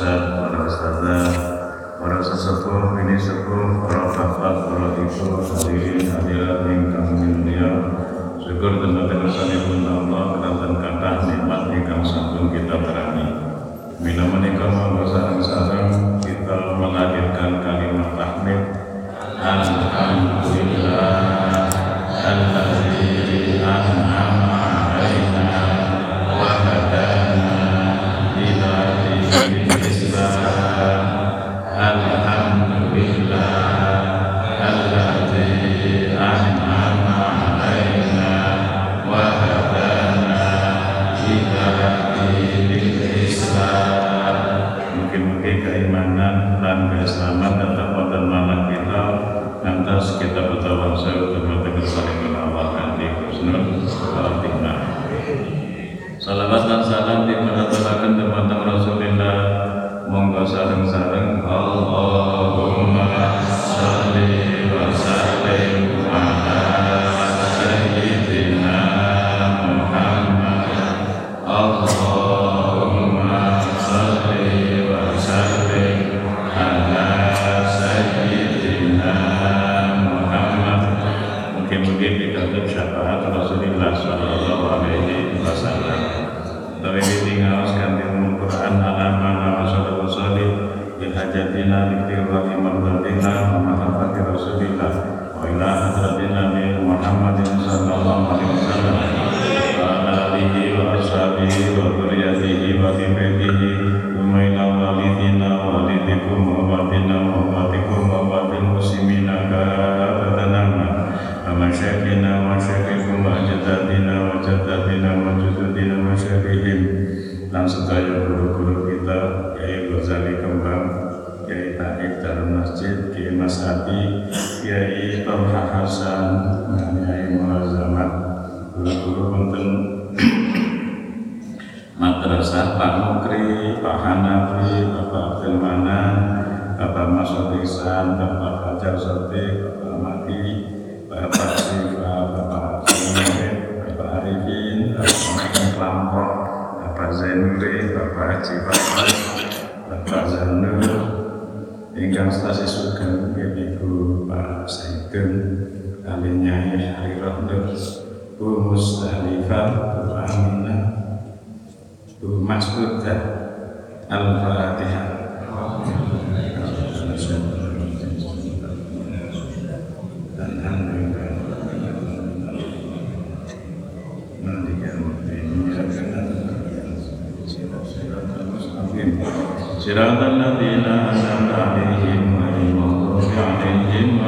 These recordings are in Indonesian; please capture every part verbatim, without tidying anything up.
ustaz, para ustazah, para sesepuh, bini sepuh, para bapak, para ibu, hadirin hadirat ingkang mulia. Syukur teman-teman sanipun Allah kelantan kathah nikmat ingkang sampun kita terani. Mila menika monggo sareng-sareng kita melahirkan kalimat tahmid. Alhamdulillah alladzi an'ama 'alaina wa hadana ila dinil Islam. Alhamdulillah alladzi an'ama 'alaina wa hadana ila dinil Islam. Mungkin-mungkin keimanan dan keislaman tetap wonten malah kita lantas kita bertawassul teman-teman saling menawar di husnul khotimah. Salawat dan salam dimanatulaken teman-teman Rasulullah. Monggo sareng-sareng Allahumma sholli wa sallim ala sayyidina Muhammad. Allahumma sholli wa sallim ala sayyidina Muhammad. Mungkin-mungkin dikatakan syafaat Rasulullah sallallahu alaihi wasallam. Tapi tinggal sekanti Quran alamana Rasulullah sallallahu bihajatina liktirwati mardatina wa mahabbati Rasulillah wa ila hadratina min Muhammadin sallallahu alaihi wasallam wa ala alihi wa ashabihi wa dhurriyyatihi wa dhibbihi wa ila walidina wa walidikum wa walidina wa walidikum wa walidil muslimina kafatanama wa masyaikina wa masyaikikum wa jadadina wa jadadina wa jududina wa masyaikihim dan sedaya guru-guru kita, Kiai Ghazali Kembang, Kiai Taib Darul Masjid, Kiai Mas Adi, Kiai Tolha Hasan, Kiai Muazzamat, guru-guru wonten madrasah Pak Mukri, Pak Hanafi, Bapak Abdul Manan, Bapak Mas Ihsan, Bapak Fajar Sotik, Bapak Maki, Bapak Siva, Bapak Siva, Bapak Arifin, Bapak Kelompok, Bapak Zainuri, Bapak Haji Bapak, Bapak Zanur, ingkang stasi sugeng Ibu Pak Saidun, Ali Nyai Ali Rohdur, Bu Mustalifah, Bu Aminah, Bu Mas'udah, Al-Fatihah. Dan alhamdulillah Siratal ladzina an'amta 'alaihim ghairil maghdubi 'alaihim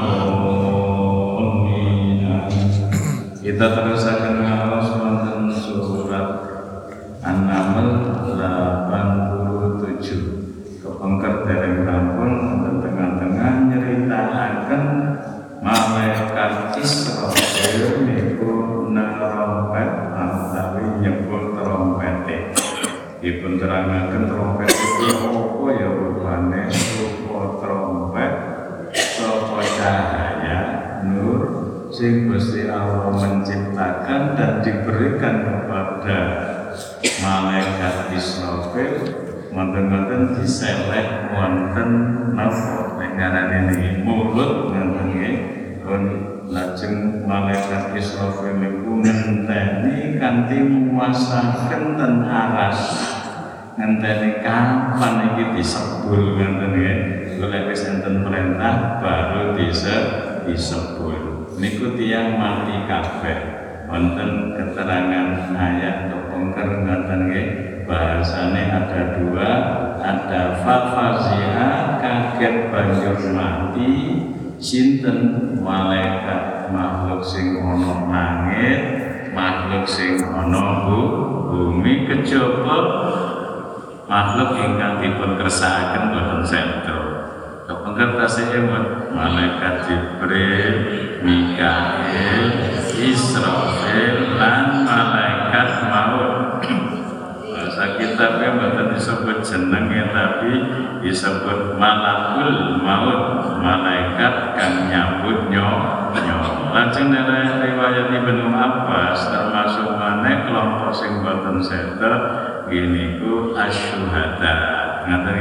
waladdallin. Kita terusaken ngaos wonten surat An-Naml delapan puluh tujuh. Kepengker dereng rampung wonten tengah-tengah nyritakaken malaikat Israfil niku nerompet utawi nyebut trompete. Dipun terangaken trompet itu apa ya rupane rupa trompet saka cahaya nur sing Gusti Allah menciptakan dan diberikan kepada malaikat Israfil wonten-wonten diseleh wonten napa ngaran ini mulut ngoten nggih pun lajeng malaikat Israfil niku ngenteni kanthi muasaken ten aras ngenteni kapan iki disebul ngoten nggih golek wis enten perintah baru bisa disebul niku tiyang mati kabeh wonten keterangan ayat kepengker ngoten nggih bahasane ada dua ada fafazia kaget banjur mati sinten malaikat makhluk sing ana langit makhluk sing ana bumi kejaba makhluk ingkang dipun kersakaken boten seda kepengker tasih malaikat Jibril, Mikail, Israfil lan malaikat maut. Bahasa kitabnya boten disebut jenenge tapi disebut malakul maut, malaikat kang nyambut nyawa. Lajeng riwayat Ibnu Abbas termasuk maneh kelompok sing boten seda gini ku asyuhada. Ngaten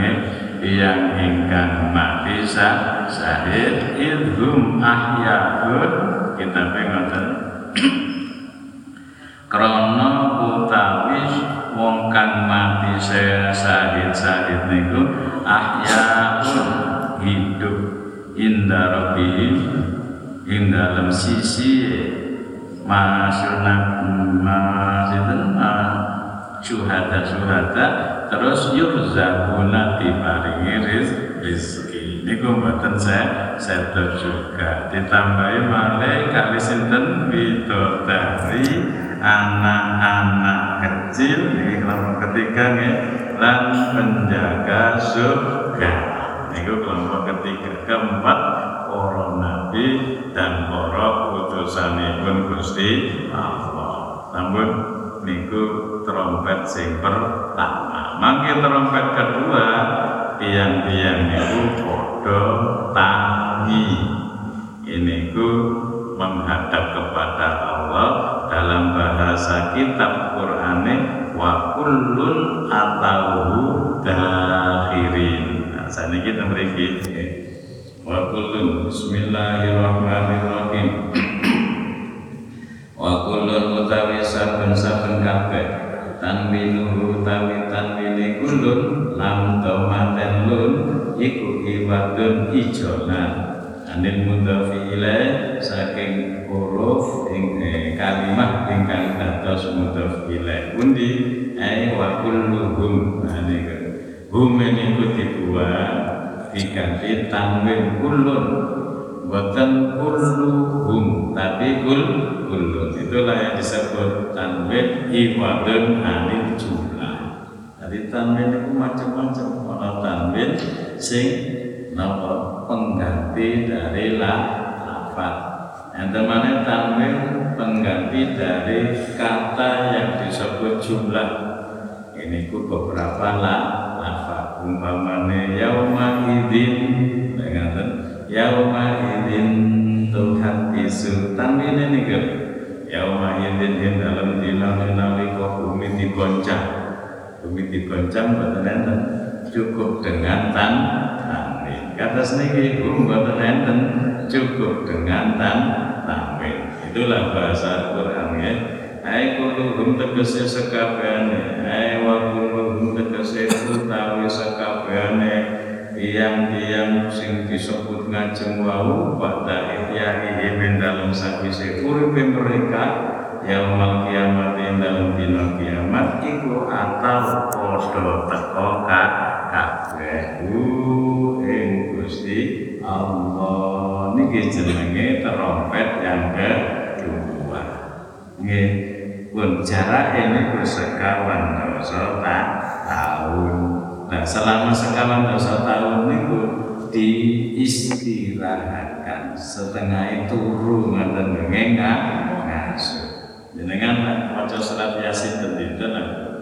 nggih yang ingkang mati syahid idhum ahyaun kita pengoten krana utawi wong kang mati syahid-syahid niku ahyaun hidup inda rabbihim ing dalem sisi masyuna masiten syuhada-syuhada terus yurzaquna diparingi rezeki niku mboten saya sedo juga ditambahi malih kali sinten bidodari anak-anak kecil niki kelompok ketiga nggih lan penjaga surga niku kelompok ketiga. Keempat para nabi dan para utusanipun Gusti Allah. Sampun niku trompet sing pertama. Mangke trompet kedua tiang-tiang niku padha tangi. Ini ku menghadap kepada Allah dalam bahasa kitab Qur'ane wa kullun atauhu dakhirin. Nah, saniki kita mriki wa kullun bismillahirrahmanirrahim. Wa kullun utawi saben-saben kabeh tanwinu utawi tanwine kullun lam domaten lun iku iwadun ijonan anil mudhafi ilaih saking huruf ing eh, kalimah ingkang dados mudhaf ilaih pundi ai wa kulluhum niku hum niku dibuat diganti tanwin kullun boten kulluhum tapi kul kullun itulah yang disebut tanwin iwadun anil jumlah. Jadi tanwin itu macam-macam ana tanwin sing napa pengganti dari la lafaz. Yang mana tanwin pengganti dari kata yang disebut jumlah. Ini ku beberapa la lafaz. Umpamane yauma idzin dengan yauma idzin tuhaddisu tanwin ini ke yauma idzin dalam dina nalika bumi digoncang. Bumi digoncang boten enten cukup dengan tan tanwin. Kata seniki hum boten enten cukup dengan tan tanwin. Itulah bahasa Quran ya. Ai kulluhum tegese sekabehane, ai wa kulluhum tegese utawi sekabehane tiang-tiang sing disebut ngajeng wau pada ihyahi min dalem sakwise uripe mereka yaumul kiamat ing dalem dina kiamat iku atau padha teka kabeh ing Gusti Allah. Niki jenenge trompet yang kedua. Nggih, pun jarak ini bersekawan dosa tahun. Nah, selama sekawan dosa tahun niku diistirahatkan setengah turu ngoten ngengak ngasuh. Jenengan maca surat Yasin dinten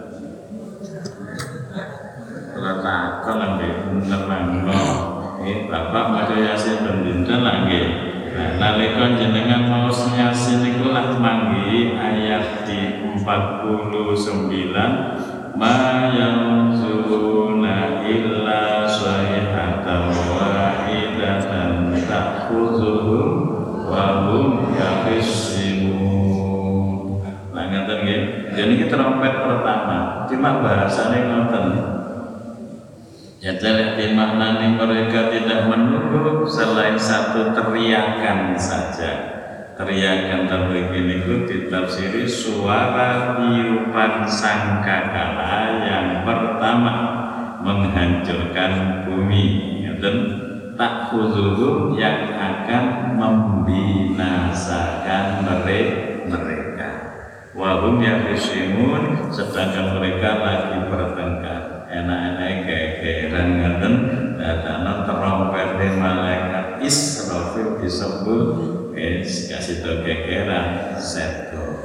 ora takon nggih nerangno. Eh Bapak maca Yasin dinten nggih. Nah, nalika jenengan mau Yasin niku lak manggi ayat di empat puluh sembilan ma yanzuruna illa sayhatan wahidatan ta'khudhuhum wa hum yakhisimun. Lah ngaten nggih. Jadi iki trompet pertama, cuma bahasane ngoten. Ya jadi maknanya mereka tidak menunggu selain satu teriakan saja. Teriakan terbegini itu ditafsiri suara tiupan sangkakala yang pertama menghancurkan bumi. Dan tak khuzuhum yang akan membinasakan mereka. Wahum yakhisimun sedangkan mereka lagi bertengkar. Enak-enak gegeran ngaten dadana trompet malaikat Israfil disebut wis kasih to gegeran seto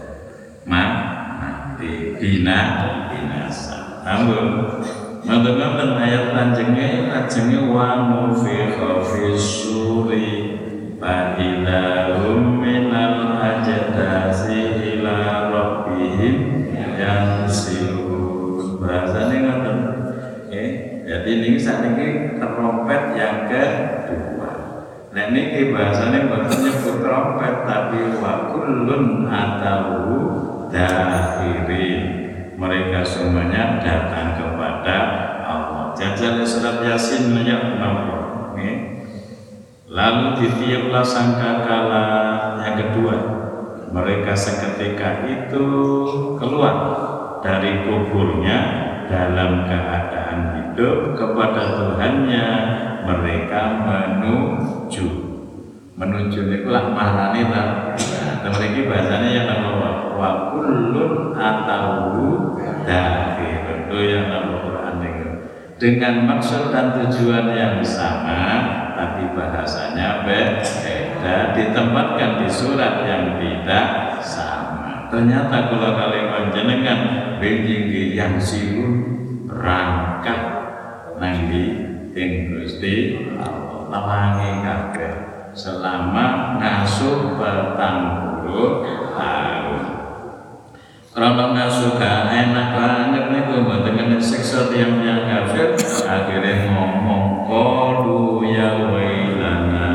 mati bina binasa. Ampun ngoten ayat lanjenge ajenge wa nufikha fisuri fa ilahum minal ajdasi ila rabbihim yansilun. Bahasane ngoten Jadi ini saat ini trompet yang kedua. Nah ini bahasanya bukan nyebut trompet tapi wa kullun atahu dakhirin. Mereka semuanya datang kepada Allah. Jajal surat Yasin ayat enam puluh. Lalu ditiuplah sangkakala yang kedua. Mereka seketika itu keluar dari kuburnya dalam keadaan hidup kepada Tuhannya. Mereka menuju menuju itulah maknanya lah. Nah, memiliki bahasanya yang nama wa kullun atahu dakhir itu yang nama Quran itu dengan maksud dan tujuan yang sama tapi bahasanya beda, ditempatkan di surat yang tidak sama. Ternyata kalau kalian panjenengan benjing yang silun rangkap nanti ing Gusti Allah tawangi kabeh selama ngasuh petang puluh tahun. Karena ngasuh gak enak banget niku mboten kena siksa tiyang-tiyang kafir, akhirnya ngomong qalu ya wailana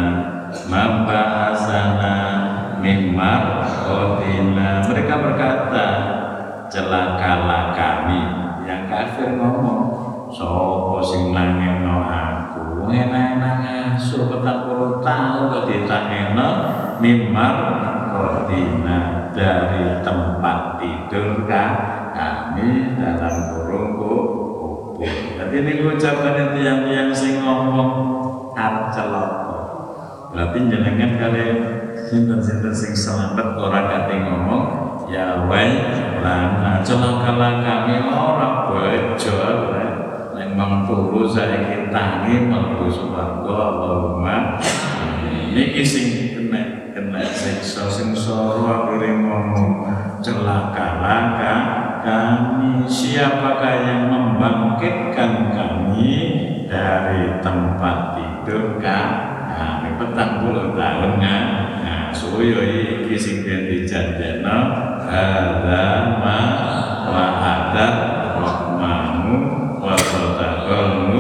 mab'asana mimma qatina. Mereka berkata, celakalah kami. Yang kafir ngomong, sapa sing nangeno aku enak-enak ngasuh petang puluh tahun kok ditangeno mimar qatina dari tempat tidur kan kami dalam kurung kubur. Jadi ini ucapan yang yang sing ngomong arep celaka. Berarti jenengan kalian sinten-sinten sing selamat ora kate ngomong ya wae lan celakalah kami ora bejo nek mang turu saiki tangi mlebu swarga Allahumma. Niki sing kena kena siksa sing soro akhire ngomong celakalah kami. Siapakah yang membangkitkan kami dari tempat tidur kami petang puluh tahun kan? Nah, suyo iki sing dijanjekno hadza ma wa'ada rahmanu wa sadaqal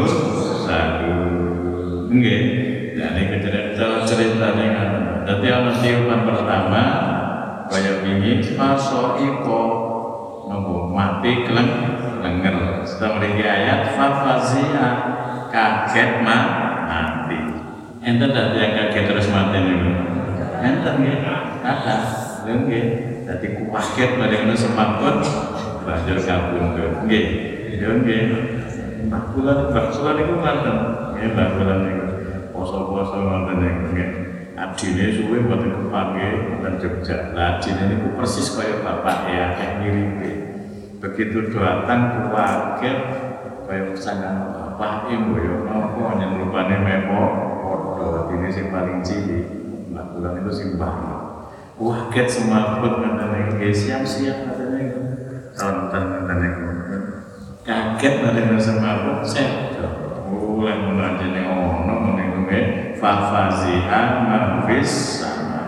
mursalun. Nggih. Jadi cerita cerita dengan jadi ana tiupan pertama kaya wingi fasoiko nopo mati keleng lenger. Setelah mriki ayat fafazia kaget ma mati. Enten dak yang kaget terus mati niku. Enten nggih. Kata lho nggih. Dadi kaget bareng semakut banjur kabundut. Nggih. Yo nggih. Bakulan bakulan niku ngoten. Nggih bakulan niku. Poso-poso ngoten nggih. Adine suwe mboten kepake dan Jogja. Lah adine niku persis kaya bapak ya kayak ngiripe. Begitu datang kuwaget kaya sangang bapak mboyo napa yen rupane mepo padha adine sing paling cilik. Lah bulan itu simbah. Kuwaget semaput ngoten nggih siap-siap ngoten niku. Sonten ngoten niku. Kaget bareng semaput sedo. Oleh menajene ono meniku nggih fafazi'an mafis sama.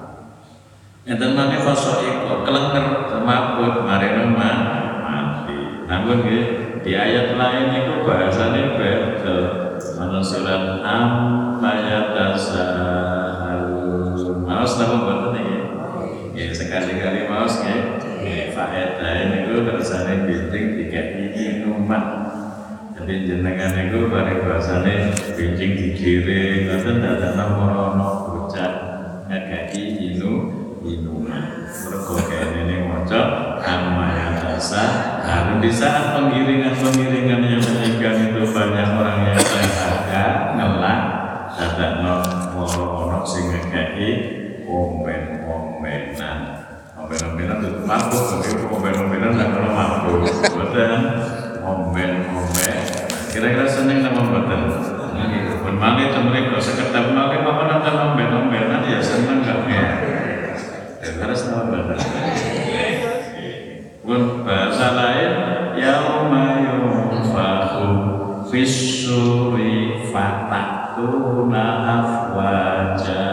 Enten mangke fasoiko kelenger semaput marene mati. Namun nggih di ayat lain itu bahasane beda. Ana surat Amma yatasaalun. Maos napa mboten nggih? Nggih sekali-kali maos nggih. Nggih faedah niku kersane binting dikai minuman. Jadi jenengan itu pada bahasanya bincing digiring, ngoten dadana ana bocah ngekeki inu minuman. Mergo kene maca amma yatasa. Nah, di saat penggiringan-penggiringan yang meninggal itu banyak orang yang terjaga ngelak dadana ana sing ngekeki omen-omenan. Omen-omenan itu mabuk, tapi omen-omenan ndak ono mabuk. Mboten omen-omen. Kira-kira seneng nama mboten? Nggih, pun mangke teng mriku sekedap mangke apa nonton omen-omenan ya seneng gak ya. Kira-kira nama mboten? Pun bahasa lain yauma yunfakhu fis-suri fatatuna afwaja.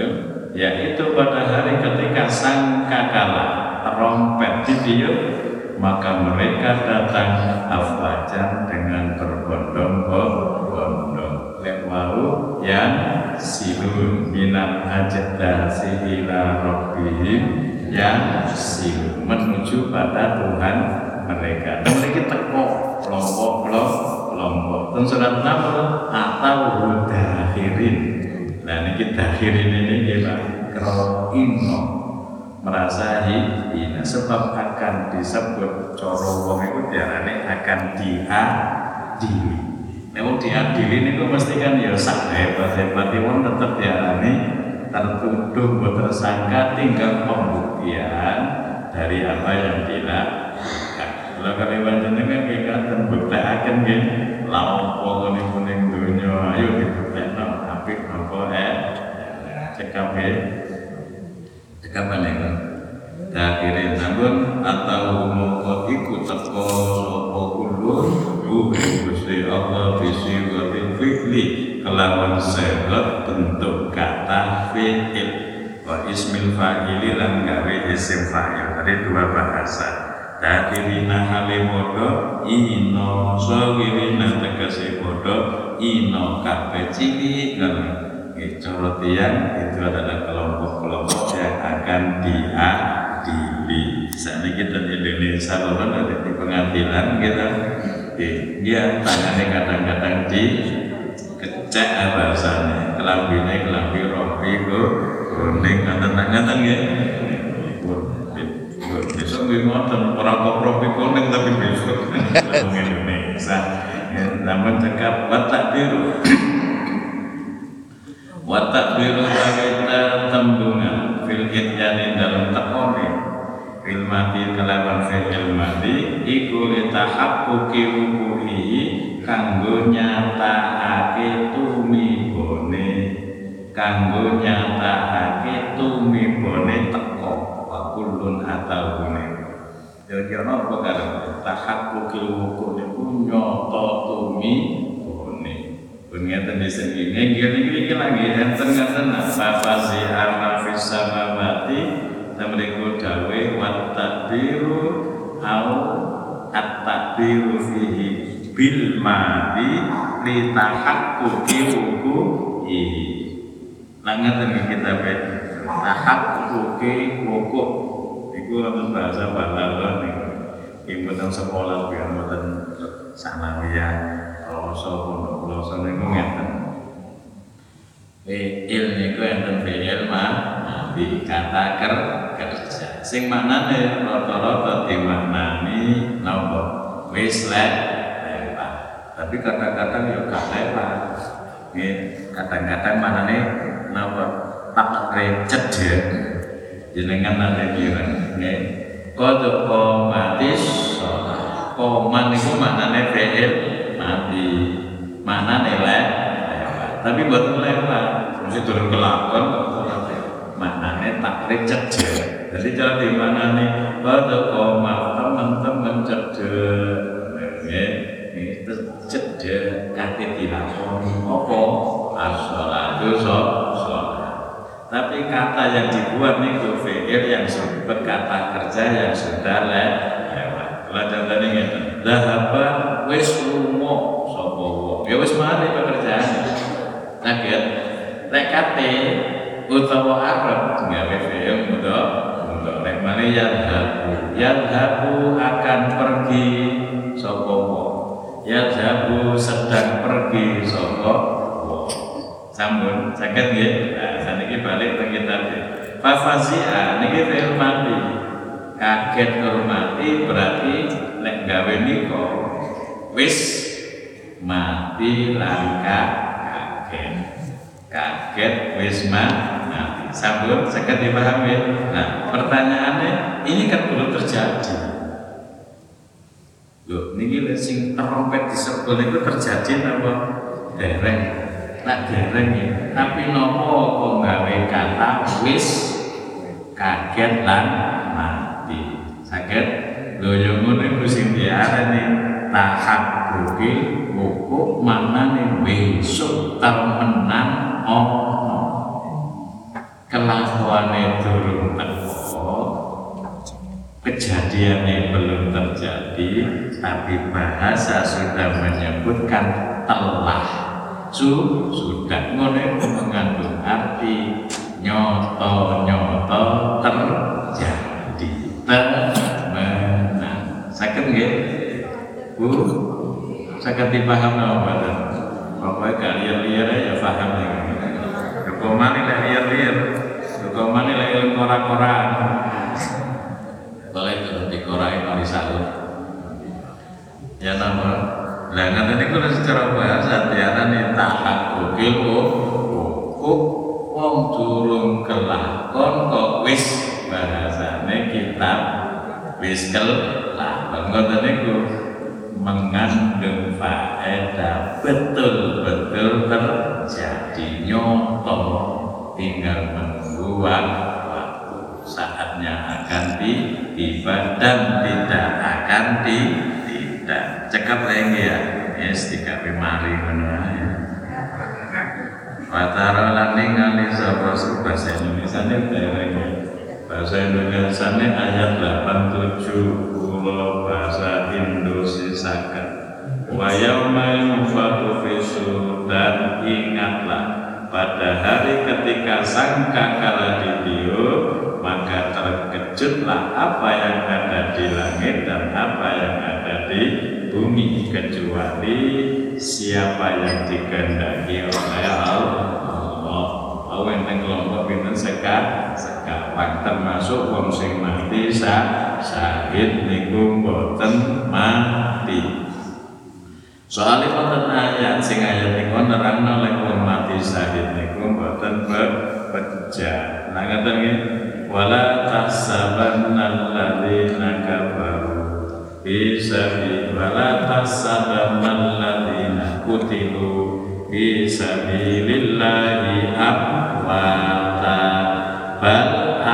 Yaitu pada hari ketika sangkakala trompet ditiup maka mereka datang afwajan dengan berbondong-bondong. Lewau yang silun minat ajdasi ila rabbihim yang silun menuju pada Tuhan mereka. Dan mereka teko kelompok-kelompok. Dan surat Naml atau dakhirin. Nah ini dakhirin ini kita kroino merasa hina sebab akan disebut coro wong itu diarani akan diadili. Nek wong diadili niku mesti kan ya sak hebat-hebat wong tetep diarani tertuduh buat tersangka tinggal pembuktian dari apa yang dilakukan. Kalau kalian jenengan kekaten buktekaken nggih laopo kuning-kuning donya ayo dibuktekno apik napa eh cekap nggih. Cekap niku. Dakhirin namun atau moko iku teko sapa ulun ruhi Gusti Allah bisi watil fi'li kelawan segot bentuk kata fi'il wa ismil fa'ili lan gawe isim fa'il. Tadi dua bahasa. Dakhirina halimodo ino sawirina tegese bodo ino kabeh cilik ngono. Cara tiyang itu adalah kelompok-kelompok yang akan diadili. Saat ini kita di Indonesia orang ada di pengadilan kita, dia tangannya kadang-kadang di kecek bahasanya, kelambine kelambi rompi kuning, kadang-kadang ya. Besok ngoten orang kok rompi kuning tapi besok orang Indonesia. Namun cakap watak biru. Watak biru kita tembungan fil ityani dalam takoni fil mati kelawan fil mati iku litahaqquqi wuquhi kanggo nyatakake tumibone kanggo nyatakake tumibone teko wa kullun ataune. Kira-kira apa karo tahaqquqi wuquh niku nyoto tumi ngeten di sini nggih iki lagi enten ngaten apa fasi ama fis samawati tamriku dawe wat tadbiru au at-tadbiru fihi bil madi li tahaqquqi wuqu'i. Lah ngaten kita be tahaqquqi wuqu' iku wonten bahasa Balaghah niku. Iki mboten sekolah biar mboten sanawiyah. Kalau pondok pulau niku ngeten. Fi'il niku enten fi'il madi kata ker kerja. Sing maknane rata-rata dimaknani napa? Wis lewat. Tapi kadang-kadang ya gak lewat. Nggih, kadang-kadang maknane napa? Tak cedhek. Jenengan nate kira nggih. Qad qomatis shalah. Qoman niku maknane fi'il mati mana nilai tapi buat lewat mesti turun ke lakon maknanya takrib cedek. Jadi cara di mana nih pada koma teman-teman cedek ini cedek kate dilakoni apa as-sholatu sholat. Tapi kata yang dibuat itu fi'il yang berkata kerja yang sudah lewat. Kalau contohnya ngeten dhahaba wis lunga sapa wong ya wis mari pekerjaane kaget lek kate utawa arep gawe fi'il mudhaf mudhaf lek mari yadhabu yadhabu akan pergi sapa wong yadhabu sedang pergi sapa wong sampun saged nggih. Nah saniki balik teng kitab fa fazia niki fi'il mati kaget hormati berarti lek gawe nika wis mati langka kaget kaget wis mati sampun saged dipahami. Nah pertanyaannya ini kan belum terjadi loh niki lek sing trompet disebut itu terjadi apa dereng tak dereng ya tapi nopo kok gawe kata wis kaget lan sakit loyo ngono iku sing diarani tahaqquqi wuqu' maknane besok temenan ana kelakuane durung teko kejadian kejadiannya belum terjadi, tapi bahasa sudah menyebutkan telah, su sudah, ngono mengandung arti nyoto-nyoto terjadi, temenan. Saged nggih Bu? Saged dipaham napa mboten? Pokoke gak liar-liar ya paham iki. Hukumane lek liar-liar, hukumane lek ilmu ora-oraan. Boleh turun di korai mari sahur. Ya nama. Lah ngene niku secara bahasa diarani tahakkukil kok wong durung kelakon kok wis bahasane kitab wis kelakon. Ngoten niku mengandung faedah betul-betul terjadi nyata, tinggal menunggu waktu saatnya akan tiba dan tidak akan di tidak cekap lagi ya yes tiga mari ngono ya watara lan ningali sapa bahasa Indonesia ne derenge bahasa Indonesia ne ayat delapan puluh tujuh kula bahasa Indonesia saged wa yauma yunfakhu fi sur, dan ingatlah pada hari ketika sangkakala ditiup, maka terkejutlah apa yang ada di langit dan apa yang ada di bumi, kecuali siapa yang dikehendaki oleh Allah. Allah yang kelompok pinten seka sekawan, termasuk wong sing mati sah syahid niku mboten mati. Soalnya wonten ayat sing ayat niku nerangno lek wong mati syahid niku mboten beja. Nah ngaten nggih, wala tahsabanna alladziina kafaru fi sabil wala tahsabanna alladziina qutilu fi sabilillahi amwata bal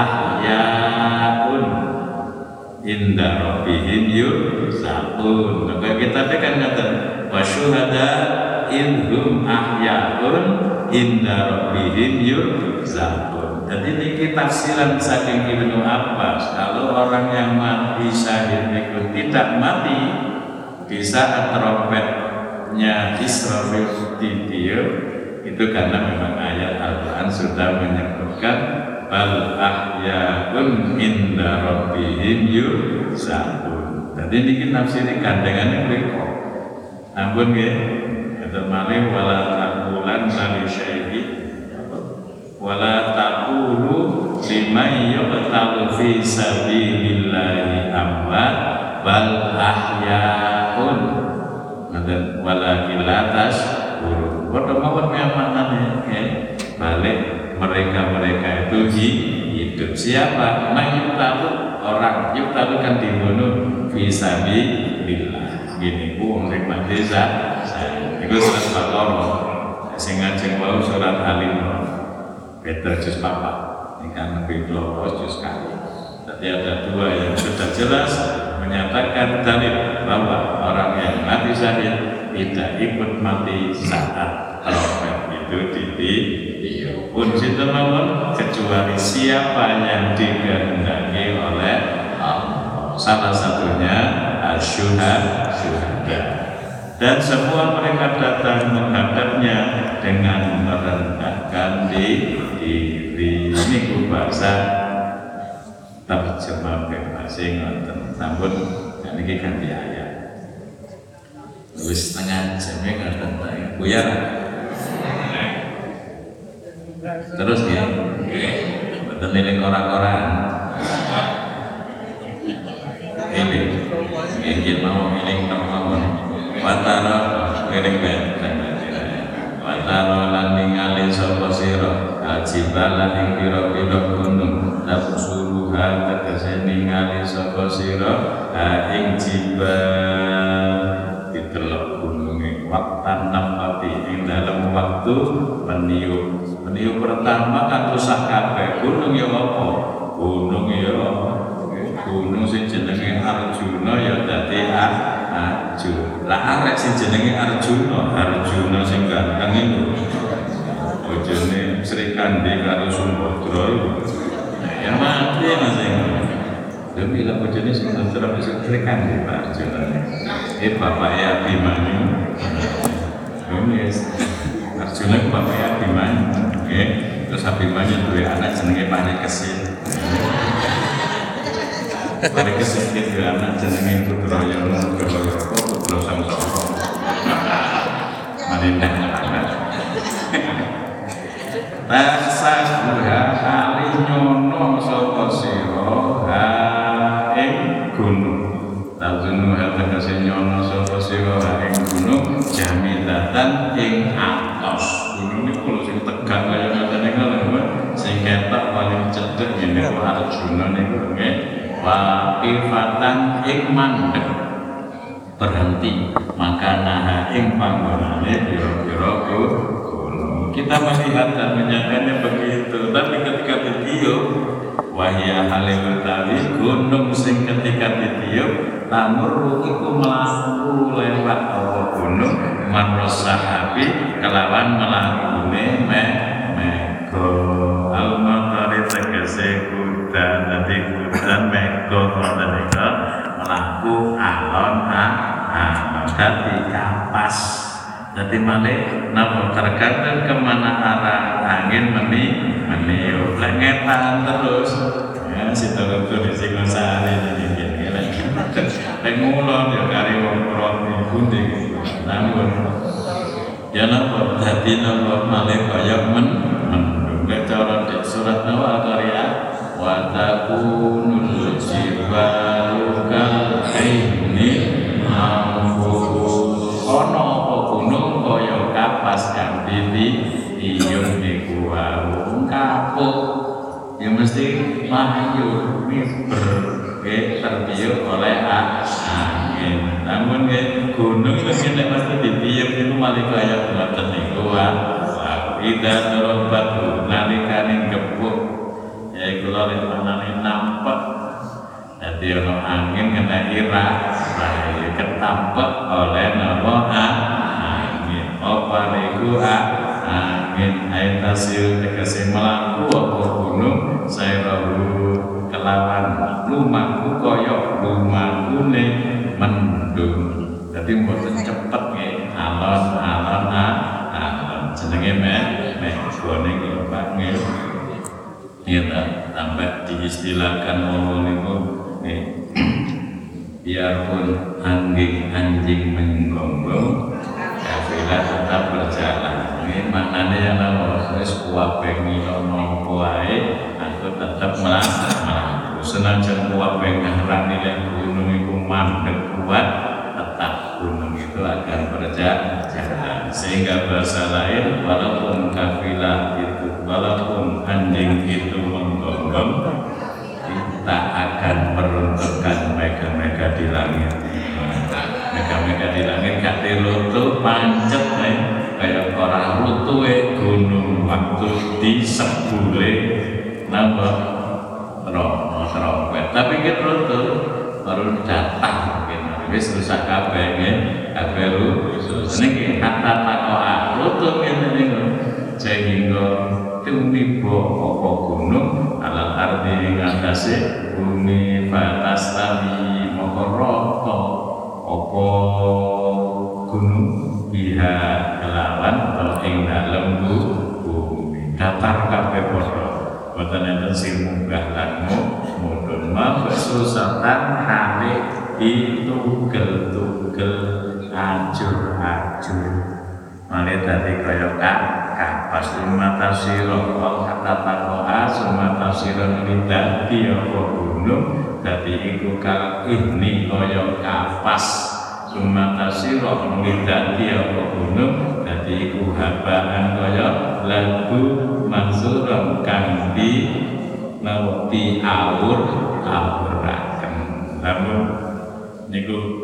ahyaun inda rabbihim yurzaqun. Maka kita kan ngaten wa syuhada idhum ahyaun inda rabbihim yurzaqun. Jadi ini tafsiran saking Ibnu Abbas, kalau orang yang mati syahid itu tidak mati di saat trompetnya Israfil ditiup, itu karena memang ayat Al-Quran sudah menyebutkan bal ahyaun inda rabbihim yurzaqun. Jadi ini nafsiri gandengannya mriku. Ampun nggih, kata malih wala taqulan li syai'in wala taqulu liman yuqtalu fi sabilillahi amwat bal ahyaun dan walakin la tashkurun. Padha mawon maknane nggih, balik mereka-mereka itu hidup. Siapa? Mayyutalu, orang yutalu kan dibunuh fi sabilillah. Gini ku wong sing mati saya. Iku surat Baqarah. Sing ngajeng wau surat Al-Imran. Beda juz papat. Ini kan lebih kelompok juz kali. Jadi ada dua yang sudah jelas menyatakan dalil bahwa orang yang mati syahid tidak ikut mati saat trompet itu ditiup. Pun situ mawon kecuali siapa yang dikehendaki oleh Allah. Salah satunya asyuhada syuhada. Dan semua mereka datang menghadapnya dengan merendahkan diri. Ini bahasa terjemah bebas ngoten. Sampun niki ganti ayat. Wis setengah jam ngoten ta. Buyar. Terus ya. Mboten eling ora-oraan. Ini ingin mau eling mawon. Watara eling ben. Watara lan ningali sapa sira ajibalan ing pira-pira gunung tabsuruha tegese ningali sapa sira ha ing jibal ditelok gununge waktan nafati ing dalam waktu meniup. Meniup pertama kan rusak kabeh gunung ya apa? Gunung ya gunung sing jenenge Arjuna ya dadi Arjuna. Lah arek sing jenenge Arjuna, Arjuna sing ganteng iku bojone Sri Kandi karo Sumbadra ya mati Mas. Demi lah bojone sing terus bisa tekan di Pak Arjuna. Eh bapaknya Abimanyu. Demi Arjuna ku bapaknya Abimanyu. Nggih, terus Abimanyu duwe anak jenenge Parikesit. Parikesit duwe anak jenenge Putrayana Gawaya Putra Samsara. Marindah anak. Tasah buha kali nyono sapa sira ha ing gunung. Tazunu ha tegese nyono sapa sira ha ing gunung jamidatan ing atos. Gunung niku lho sing tegang kaya ngene iki lho, sing ketok paling cedhek ngene kok Arjuna niku nggih. Wa ifatan ing mandeg berhenti maka naha ing panggonane pira-pira kita melihat dan menyangkanya begitu, tapi ketika ditiup wahya halil tawi gunung sing ketika ditiup tamur iku mlaku lewat apa gunung maros sahabi kelawan melakune me mego al-matari tegese kuda dadi kuda mego ngoten nika mlaku alon alon dadi kapas. Jadi malih napa tergantung kemana arah angin meni meniup lengetan terus ya si turun di Singosari ini gini lek ngulon ya kari wong proti pundi namun ya napa dadi napa malih kaya men mendung cara di surat Al-Qariyah wa takunul jibalu kal aini ono gunung kaya kapas kang ditiup niku wae kapuk ya mesti mayur miber nggih tertiup oleh angin. Namun nggih gunung itu nek mesti ditiup niku malih kaya ngoten niku wae. Ida terobat nalikane gebuk ya iku lho manane nampak. Dadi ono angin kena irah ketampek oleh napa angin apa niku angin aitasil tegese mlaku apa gunung sairahu kelawan lumaku kaya lumakune mendung dadi mboten cepet nggih alon-alon alon jenenge mek mek gone iki Pak nggih ya sampai diistilahkan ngomong niku nggih biarpun anjing anjing menggonggong kafilah tetap berjalan. Ini maknanya yang nama wis kuwabe ngilono wae aku tetap melaku senajan kuwabe ngarani lek gunung iku mandeg kuat tetap gunung itu akan berjalan sehingga bahasa lain walaupun kafilah itu walaupun anjing itu menggonggong kita akan peruntukkan mega-mega di langit. Mega-mega di langit kate lutu pancet nih kayak orang rutue gunung waktu di sebule napa rono trompet tapi kita lutu baru datang gitu wis rusak kabeh nggih kabeh rusak niki kata takoa lutu ngene niku sehingga tumibo apa gunung alal ardi ngatasi bumi batas tali mokoroko apa gunung biha kelawan atau ing dalem bumi datar kabeh padha boten enten sing munggah lan mudhun mabsusatan hale ditugel-tugel ajur-ajur malih dadi kaya kapas mata sira kata takoa sumata sira dadi apa gunung dadi iku kal ini kaya kapas sumata sira dadi apa gunung dadi iku habaan kaya lagu mansuran kang di nawti awur awuraken namun niku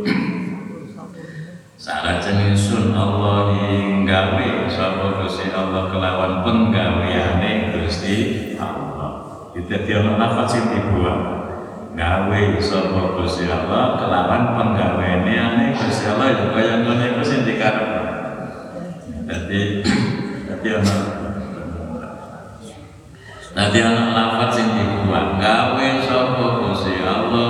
salajeng sun Allah gawe sapa Gusti Allah kelawan penggaweane Gusti Allah. Dadi ana nafas sing dibuang gawe sapa Gusti Allah kelawan penggaweane Gusti Allah ya kaya ngene iku sing dikarepno. Dadi dadi ana dadi ana nafas sing dibuang gawe sapa Gusti Allah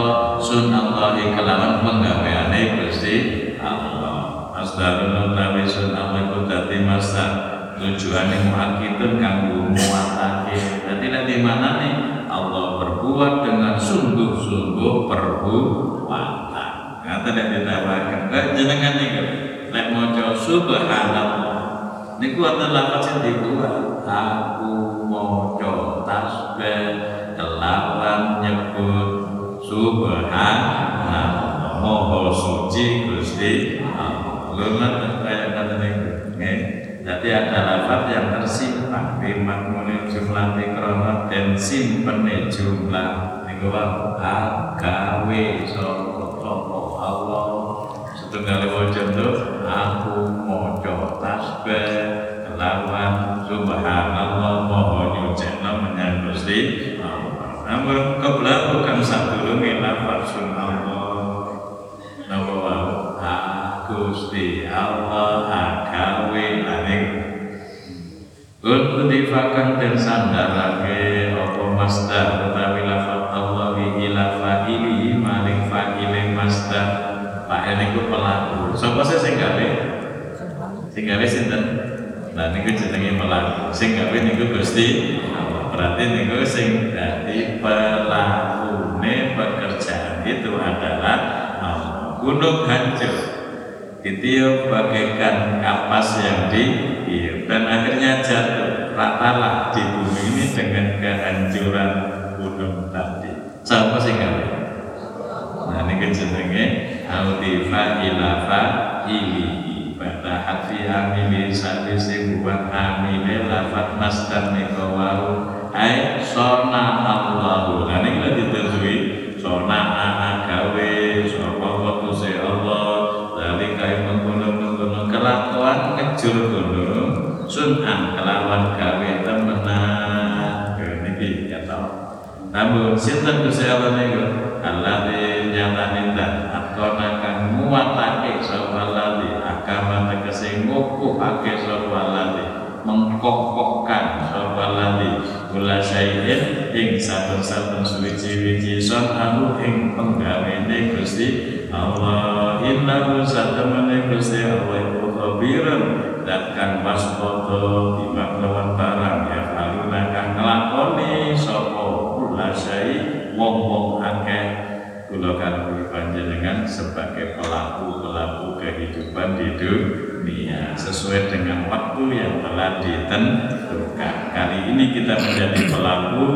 Dadi masa tujuane muakidun kanggo muatake. Dadi nek di mana nih Allah berbuat dengan sungguh-sungguh perbuatan. Kata nek ditawakan, kok jenengan niku nek maca subhanallah niku wonten lafaz sing dibuat. Aku maca tasbih kelawan nyebut subhanallah, maha suci Gusti Allah. Lha kaya kata niku nggih. Jadi ada lafaz yang tersimpan di makmune jumlah tikrono dan simpene jumlah niku wae agawe sapa Allah. Setunggal wajah itu aku maca tasbih kelawan subhanallah maha nyucikna menyang Gusti Allah. Namun kebelah bukan sadurunge lafaz Allah. Napa wae Gusti Allah agawe aning Udhifakan dan sandarake apa masdar utawi lafaz Allah ila fa'ili maring fa'ile masdar. Fa'il niku pelaku. Sapa sing gawe? Sing gawe sinten? Nah niku jenenge pelaku. Sing gawe niku Gusti Allah. Berarti niku sing dadi pelakune pekerjaan itu adalah Allah. Gunung hancur ditiup bagaikan kapas yang ditiup dan akhirnya jatuh ratalah di bumi ini dengan kehancuran gunung tadi. Siapa sih kali? Nah ini jenenge audifa ilafa ili pada hati amili sadi buat amili lafat masdar nikawau ay sona Allahu. Nah ini kita ditujui sona agawe sapa waktu si Allah kayak menggunung-menggunung kelakuan ngejur gunung sunan kelawan gawe temenan niki ya tau. Namun sinten Gusti Allah niku alladzi nyatane dan akona kang muatake sapa lali agama tegese ngukuhake sapa lali mengkokokkan sapa lali kula syai'in ing saben-saben suwi-wiji sonahu ing penggawene Gusti Allah. Innahu satamane Gusti Allah iku khabiran dan kan waspada dimaknawan barang ya aluna kang nglakoni sapa kula syai wong-wong akeh kula kanggo panjenengan sebagai pelaku-pelaku kehidupan di dunia sesuai dengan waktu yang telah ditentukan. Kali ini kita menjadi pelaku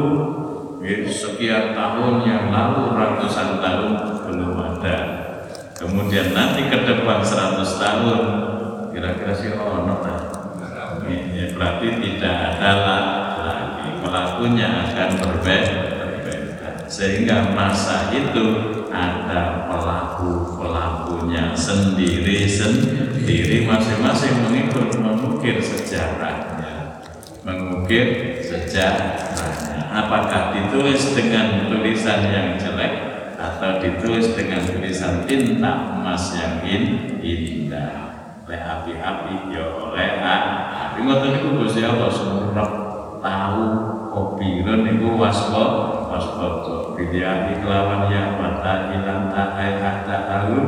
sekian tahun yang lalu, ratusan tahun belum ada. Kemudian nanti ke depan seratus tahun kira-kira sih ono ya, berarti tidak ada lagi, pelakunya akan berbeda, sehingga masa itu ada pelaku-pelakunya sendiri-sendiri masing-masing mengikut mengukir sejarahnya mengukir sejarahnya apakah ditulis dengan tulisan yang jelek atau ditulis dengan tulisan tinta emas yang indah oleh api-api ya oleh api ngoten niku Gusti Allah sumrep tahu kopiron niku waspa waspada bidiati kelawan ya mata ilang ta'ai hatta alun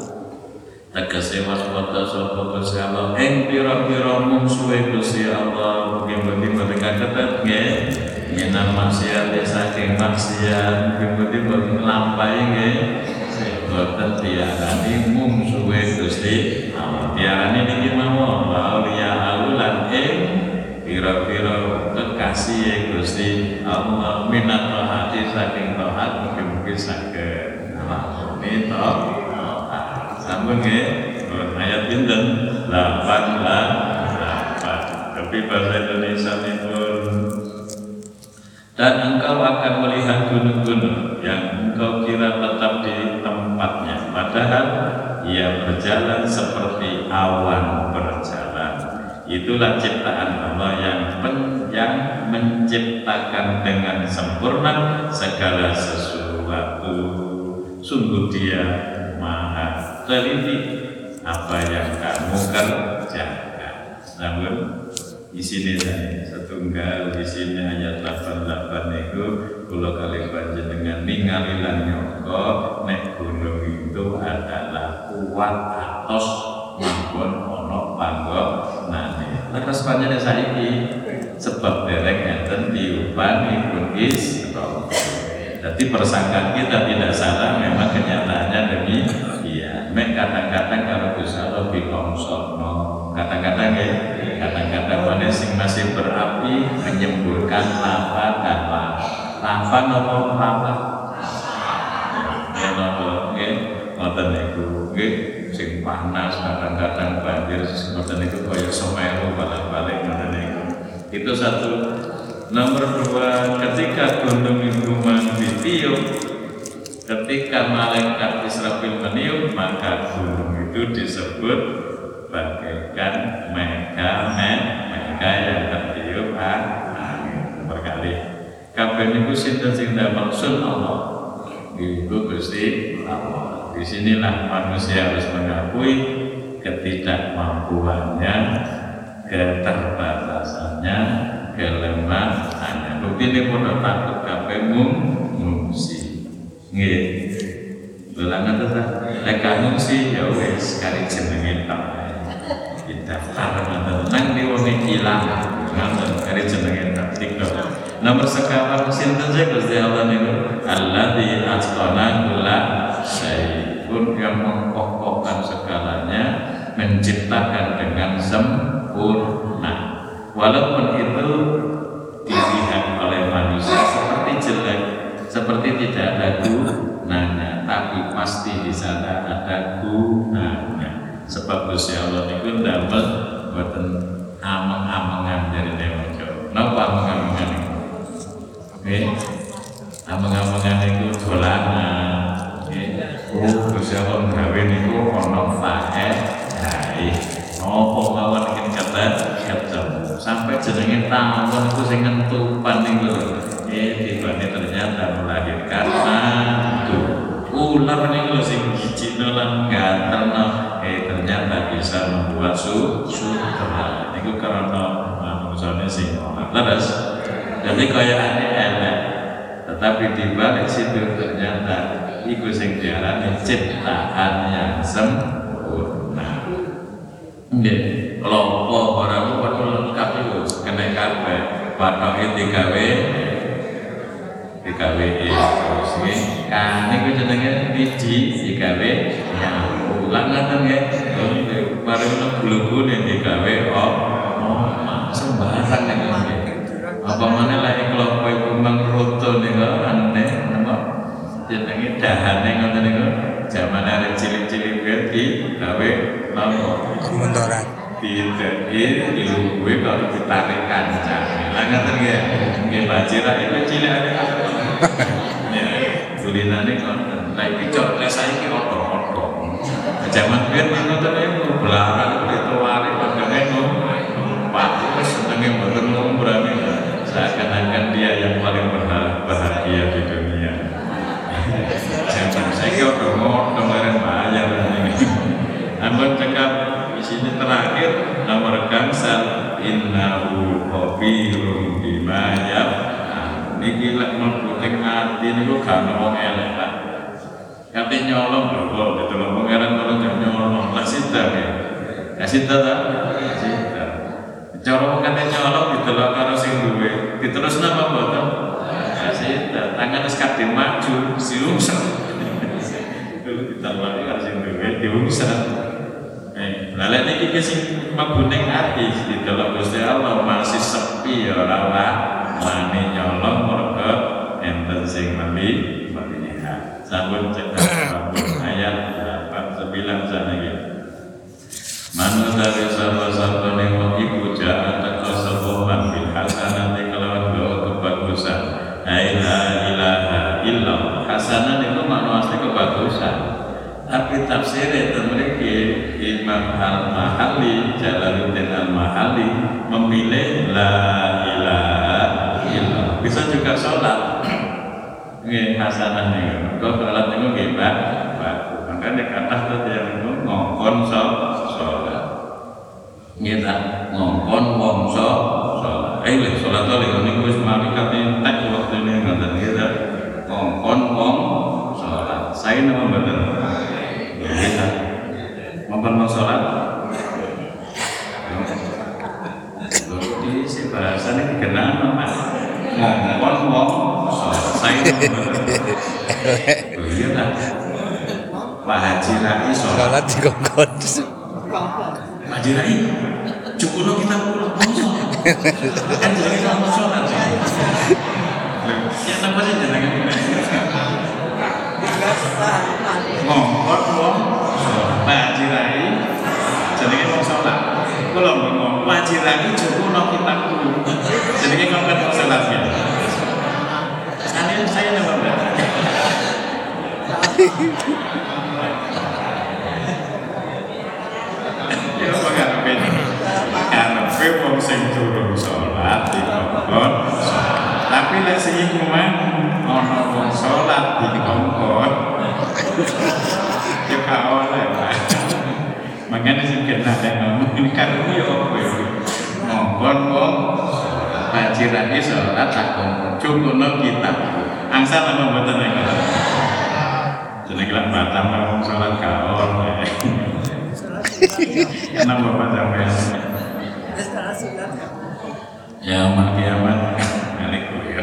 tegese waspada sapa Gusti Allah ing pira-pira mungsuhe Gusti Allah mugi-mugi mereka ketet nggih minal maksiat saking maksiat mugi-mugi nglampahi nggih boten diarani mungsuhe Gusti Allah diarani niki mawon auliya alulan ing pira-pira kekasih Gusti Allah minat hati saking taat mugi-mugi saged nglakoni taat sampun nggih ayat pinten delapan delapan tapi bahasa Indonesia pun dan engkau akan melihat gunung-gunung yang engkau kira tetap di tempatnya padahal ia berjalan seperti awan berjalan. Itulah ciptaan Allah yang pen, yang menciptakan dengan sempurna segala sesuatu. Sungguh Dia Maha teliti apa yang kamu kerjakan. Namun di sini saya setunggal di sini ayat delapan delapan itu kula kali panjenengan ningali lan nyangka nek gunung itu adalah kuat atos manggon ana panggonane terus panjenengan saiki sebab derek ngeten diupani pun Isra. Jadi persangkaan kita tidak salah, memang kenyataannya demikian. Mek kadang-kadang kalau bisa lebih kongsono, kadang-kadang ya, kadang-kadang mana sing masih berapi menyemburkan lava dan lava, lava nopo lava, ya nopo, ya, ngoten niku, ya, sing panas kadang-kadang banjir, ngoten niku kaya Semeru balik-balik ngoten niku. Itu satu. Nomor dua, ketika gunung itu ditiup, ketika malaikat Israfil meniup, maka gunung itu disebut bagaikan mega mega yang tertiup angin berkali. Kabeh niku sinten sing damel sun Allah, ibu Gusti Allah. Disinilah manusia harus mengakui ketidakmampuannya, keterbatasannya, kelemahannya. Bukti ini pun takut kabeh ngungsi. Nggih. Dolangan ta lek ngungsi ya wis kari jenenge tok. Didaftar ngoten nang diwone ilang. Ngoten kari jenenge tok tiga. Nomor sekawan sinten sih Gusti Allah niku? Alladzi atqana kulla syai'un, yang mengkokohkan segalanya, menciptakan dengan sempurna. Walaupun itu dilihat oleh manusia seperti jelek, seperti tidak ada gunanya, tapi pasti di sana ada gunanya. Sebab Gusti Allah itu damel boten ameng-amengan dari Dewa Jawa. Napa ameng-amengan itu? Nggih. Ameng-amengan itu dolanan. Nggih. Oh, Gusti Allah gawe niku ana faedahe. Napa mawon iki kata ketemu. Sampai jenenge tawon itu sing ngentupan niku lho. Eh tibane ternyata melahirkan mantu. Ular niku lho sing gijino lan ganterno, eh ternyata bisa membuat sutra. Niku karena manusiane sing leres. Jadi kaya elek, tetapi di balik situ ternyata iku sing diarani ciptaan yang sempurna. Nggih, kelompok orang kuwi lengkap iku kena kabeh, patoke digawe digawe terus nggih. Kan niku jenenge wiji digawe nyawu. Lah ngoten nggih. Mari menawa glugune digawe oh, sembarang niku nggih. Apa mana lagi kelompok ibu mengrutu nih kok aneh, nama jenenge dahane ngoten niku zaman ada cilik-cilik di gawe nopo kementoran tidak ini gue kalau ditarik kancah lah ngoten nggih nggih bajira itu cilik ada ya tulinane kon lek dicok lek saiki oto-oto zaman biyen ngoten niku belarang itu wari padane numpak wis senenge mboten ngombrane seakan-akan dia yang paling bahagia di dunia. Jangan saya kira udah kemarin bayar ini. Namun cakap di sini terakhir nomor gangsal innahu khabirun bima yaf'al. Niki lek mlebu ati niku gak ono wong elek lah. Kate nyolong lho kok ditolong pangeran kok nyolong lah sida ya. Ya sida ta? Sida. Cara kate nyolong didelok karo sing duwe, diterus napa mboten? Ya sida, tangan wis kadhe maju, siungsel. Didelok karo sing duwe, diungsel. Eh, lha lek niki sing mlebu ning ati didelok Gusti Allah masih sepi ya ora wani nyolong mergo enten sing meli melihat. Sampun cedak ayat delapan sembilan saniki. Manu dari sahabat-sahabat yang mau ibu jahat teko sebuah bil hasanati kelawan doa kebagusan. La ilaha illallah. Hasanah itu makna asli kebagusan. Tapi tafsirnya memiliki Imam Al-Mahalli, Jalaluddin Al-Mahalli memilih la ilaha illallah. Bisa juga sholat. Ini hasanah nih. Kalau sholat itu gimana? Bagus. Makanya kata tadi yang itu ngongkon sholat. Kita ngongkon wong sholat. Eh, lek sholat oleh ini wis mari kate tek waktu ini ngoten kita ngongkon wong sholat. Saya nama mboten. Kita ngongkon wong sholat. bahasanya dikenal Mas. Ngomong wong saya oh iya lah. Pak Haji Rai sholat di kongkon. Pak Haji Rai cukup kita pulang kosong. Kan jadi sama sholat. Ya apa sih jenengan ini? Ngongkon wong Pak Haji Rai jenenge wong sholat. Kula ngomong Pak Haji Rai cukup kita pulang. Jenenge ngongkon wong sholat ya. Sekalian saya nambah berapa? Ya apa karepe? Karepe wong sing durung salat dikongkon. Tapi lek sing iku mang ana wong salat dikongkon. Ya gak oleh, Pak. Makanya sing kena ngomong ini karepe yo apa yo. Ngongkon wong Haji Rai salat tak kongkon. Cukupno kita. Angsal apa mboten nek. Jenenge lan batam wong salat kaon. Kenapa Bapak sampean? Ya umat kiamat, alaikum ya.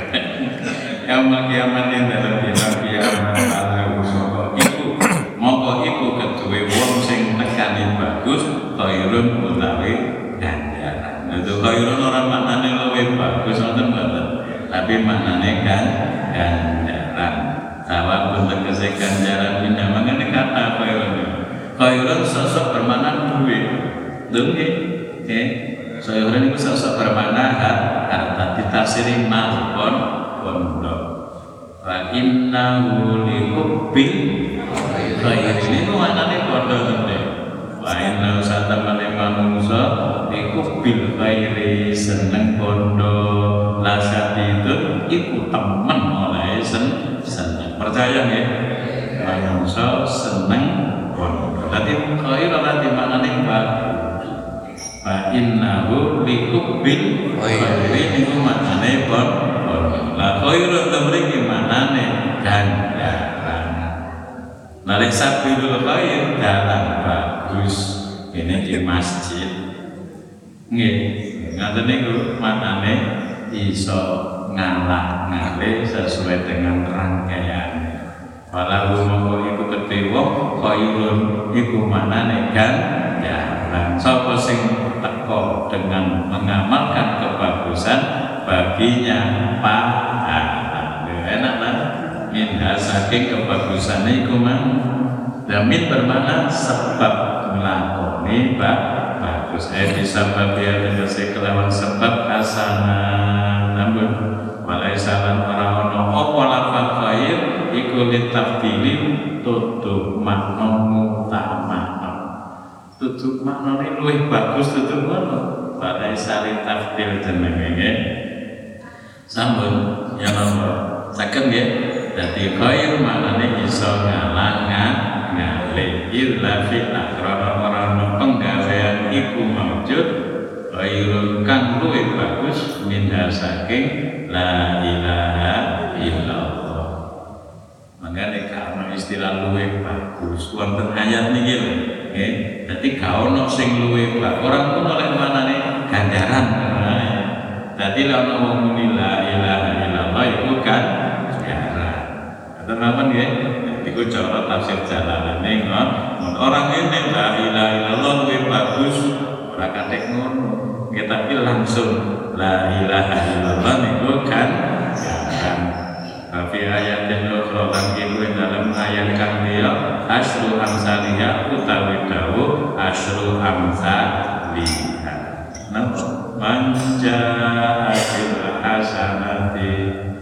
Ya umat kiamat yang dalam dina kiamat ala usaha iku, mongko iku keduwe wong sing nekani bagus, khairun utawi ganjaran. Itu khairun ora maknane luwih bagus wonten mboten, tapi maknane kan ganjaran. Sawab tegese ganjaran bina mangane kata khairun. Khairun sosok bermakna duit, duit, oke. Khairun itu sosok bermakna harta, ditafsiri mal pon pondok. Wa innahu lihubbil khair ini maknane pondok gede. Wa innahu satamane manungsa lihubbil khairi seneng pondok. Lasat itu iku temen oleh sen seneng. Percaya nggih? Manungsa seneng pondok. Dadi khair ora dimaknani bagus. Fa innahu lihubbil khairi niku maknane pondok. La khairu tamriki maknane ganjaran. Nalek sabilul khair dalan bagus. Ini di masjid. Nggih, ngaten niku maknane iso ngalah-ngalih sesuai dengan rangkaian. Walau mongko iku kedhe wong khairun iku manane ganjaran. Sapa sing teko dengan mengamalkan kebagusan baginya pahala. Enak lah. Minha saking kebagusan iku mang. Damin bermakna sebab nglakoni bagus. Eh disebab ya tegese kelawan sebab hasanah. Namun walai salan ora ana apa lafal khair iku litafdili tutup makna mutamakna. Tutup maknane luwih bagus tutup ngono. Walai salin tafdil jenenge nggih. Sampun ya nomor. Saged nggih. Dadi khair maknane iso ngalangan ngalih illa fil akhirah ora penggawean iku maujud khairun kang luwih bagus minha saking la ilaha illallah. Mangane karena istilah luwih bagus wonten ayat niki lho nggih. Dadi ga ono sing luwih bagus. Ora ngono lek manane ganjaran. Dadi lek ono wong muni la ilaha illallah iku kan ganjaran. Ngoten napa nggih? Iku cara tafsir Jalalain ngono. Orang ini la ilaha illallah luwih bagus ora kathek ngono. Ya, tapi langsung la ilaha illallah niku kan kan tapi ayat yang ukhra lan iku dalam ayat kang liya asru amsaliyah utawi dawu asru amsaliyah napa manja bil hasanati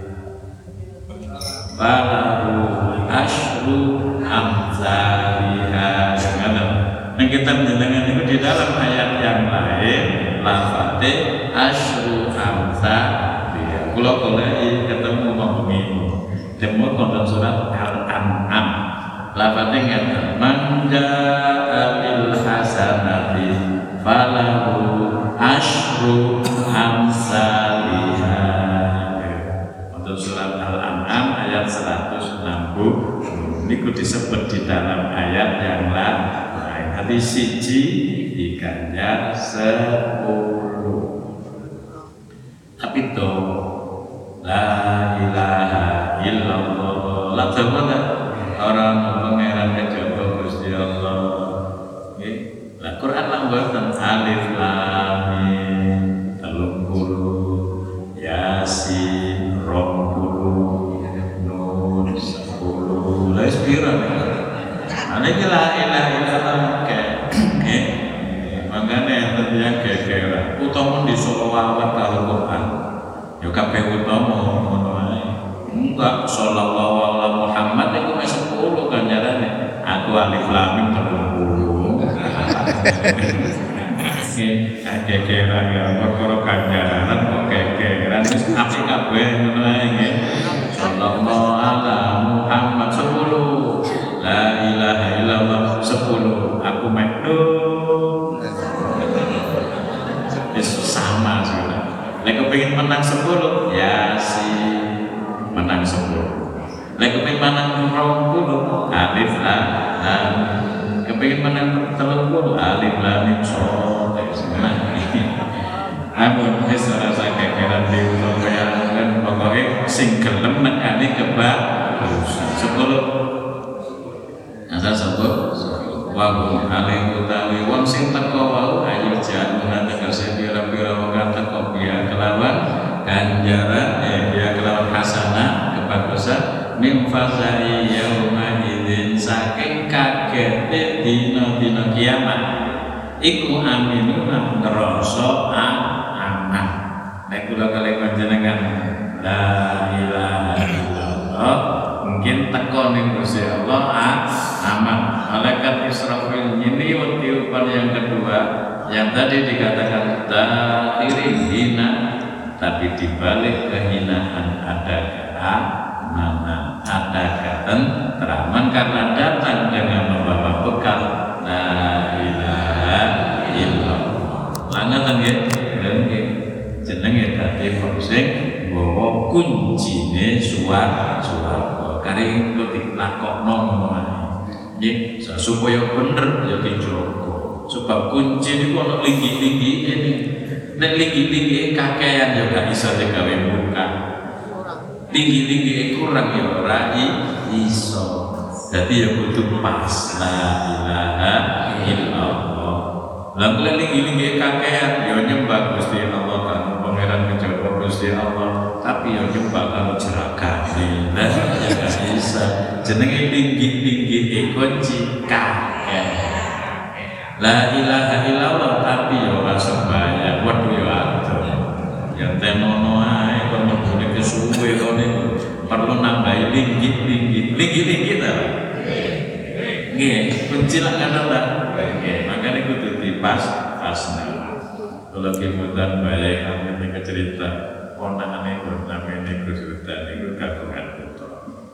balahu asru amsaliyah. Nah kita mendengar itu di dalam ayat yang lain lafate asru amsa dia. Kalau kolai ketemu mengimu, temu konten surat Al-An'am. Lafate ngeten manja bil hasanati falahu asru amsalihha. Untuk surat Al-An'am ayat seratus enam puluh. Niku disebut di dalam ayat yang lain. Hati siji diganjar sepuluh. tapi to la ilaha illallah la tawala orang pangeran kejaba Gusti Allah nggih la Quran lan boten alif lam mim telung puluh yasin rong puluh nun sepuluh la sepira ana iki la ilaha illallah nggih mangane enten yang gegeran utawa di sholawat karo Quran ya kabeh utama ngono ae enggak sallallahu alaihi Muhammad iku wis sepuluh ganjarane aku alif lam mim telung puluh nggih gegeran ya perkara ganjaran kok gegeran wis apik kabeh ngono ae nggih sallallahu alaihi Muhammad sepuluh la ilaha illallah sepuluh aku mekno sama sudah. Lek kepengin menang sepuluh, ya si menang sepuluh. Lek kepengin menang rong puluh, alif lam. Kepengin menang telung puluh, alif lam mim shad. Amun wis ora sakit keran diupayakan pokoke sing gelem nekani kebagusan. sepuluh. Asal sepuluh. Wa hum alaihi utawi wong sing teko wau ayo jan tegese pira-pira wong teko biya kelawan ganjaran eh biya kelawan hasanah kebagusan min fazai yauma idzin saking kagete dina-dina kiamat iku aminuna ngrasa aman nek kula kalih panjenengan la ilaha illallah mungkin teko ning Gusti Allah aman. Malaikat Israfil ini tiupan yang kedua yang tadi dikatakan takhiri hina tapi dibalik kehinaan ada keamanan ada ketenteraman karena datang dengan membawa bekal la ilaha illallah lanatan ya nggih jenenge dadi sing bawa kuncine suara-suara kari kok dilakokno ngono ae nggih supaya bener ya dijogo sebab kunci niku ana linggi-linggi ini nek linggi-linggi kakean ya gak iso digawe buka linggi-linggi kurang ya ora iso dadi ya kudu pas la ilaha illallah lan linggi-linggi kakean ya nyembah Gusti Allah kan pangeran kejaba Gusti Allah tapi ya nyembah karo jeragane lah ya gak bisa jenenge tinggi-tinggi kunci kakek la ilaha illallah tapi ya ora sembahyang waduh ya adoh ya temono ae kon mlebune kesuwe kene perlu nambahi tinggi-tinggi tinggi-tinggi ta nggih kunci lak ana ta nggih makane kudu dipas pasna kula kemudian bae kami cerita ponakane namanya Gus Hudan itu kagungan putra.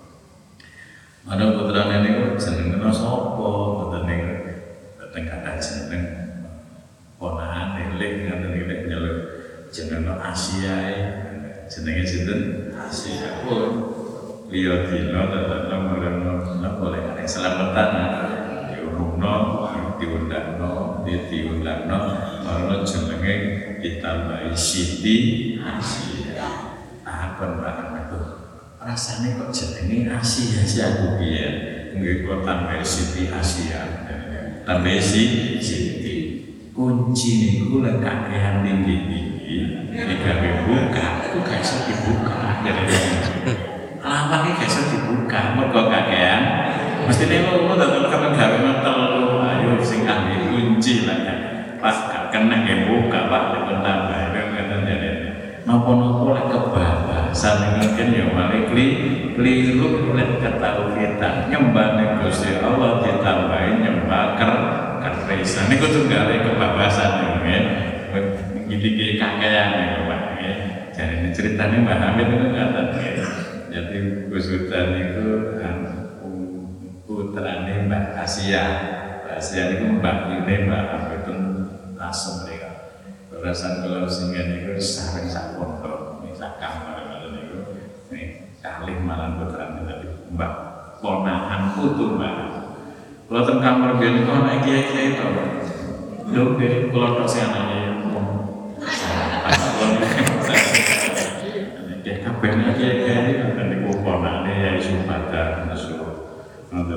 Mana putrane niku jenengna sapa? Mboten niku dateng kata jeneng ponakane lek ngaten iki nek nyeluk jenengna Asia jenenge sinten? Asia pun liya dina tetep marang napa lek nek selamatan diurungno diundangno diundangno marang jenenge ditambahi Siti Asia apa barang itu rasanya kok jenenge Asia sih aku biar nggak kok tambah Siti Asia tambah si Siti kunci niku lek kakehan tinggi-tinggi digawe buka itu gak iso dibuka jadi lawang iki gak iso dibuka mergo kakehan mesti nek ngono tetep kapan gawe telu ayo sing ahli kunci lah pas gak kena nggih buka Pak dipun tambah ngoten jane napa-napa lek kebabasan iki kan ya male keliru lek ketauhidan nyembah ning Gusti Allah ditambahi nyembah ker keresan niku tunggale kebabasan nggih iki kakean niku Pak nggih jarene critane Mbah Hamid niku ngaten nggih jadi Gus Hudan niku putrane Mbak Asia Asia niku mbak ini Mbak Hamid langsung mereka berasan kalau singgah niku sareng sak pondok sak kamar ngoten niku nih kalih malan putrane tadi Mbak ponakan putu Mbak kula teng kamar biyen niku ana kiai-kiai to lho nggih kula tok sing anake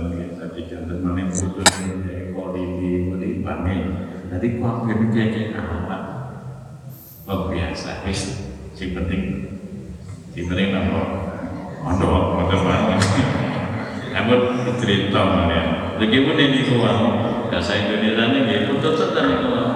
jantan kita di jantan mana putus ini kolili ini bangi. Jadi kuat gini kayak amat luar biasa. Wis, si penting, si penting nama mondok mondok mana. Namun cerita mana. Begipun ini kuat bahasa Indonesia ini gitu tetap tadi kuat.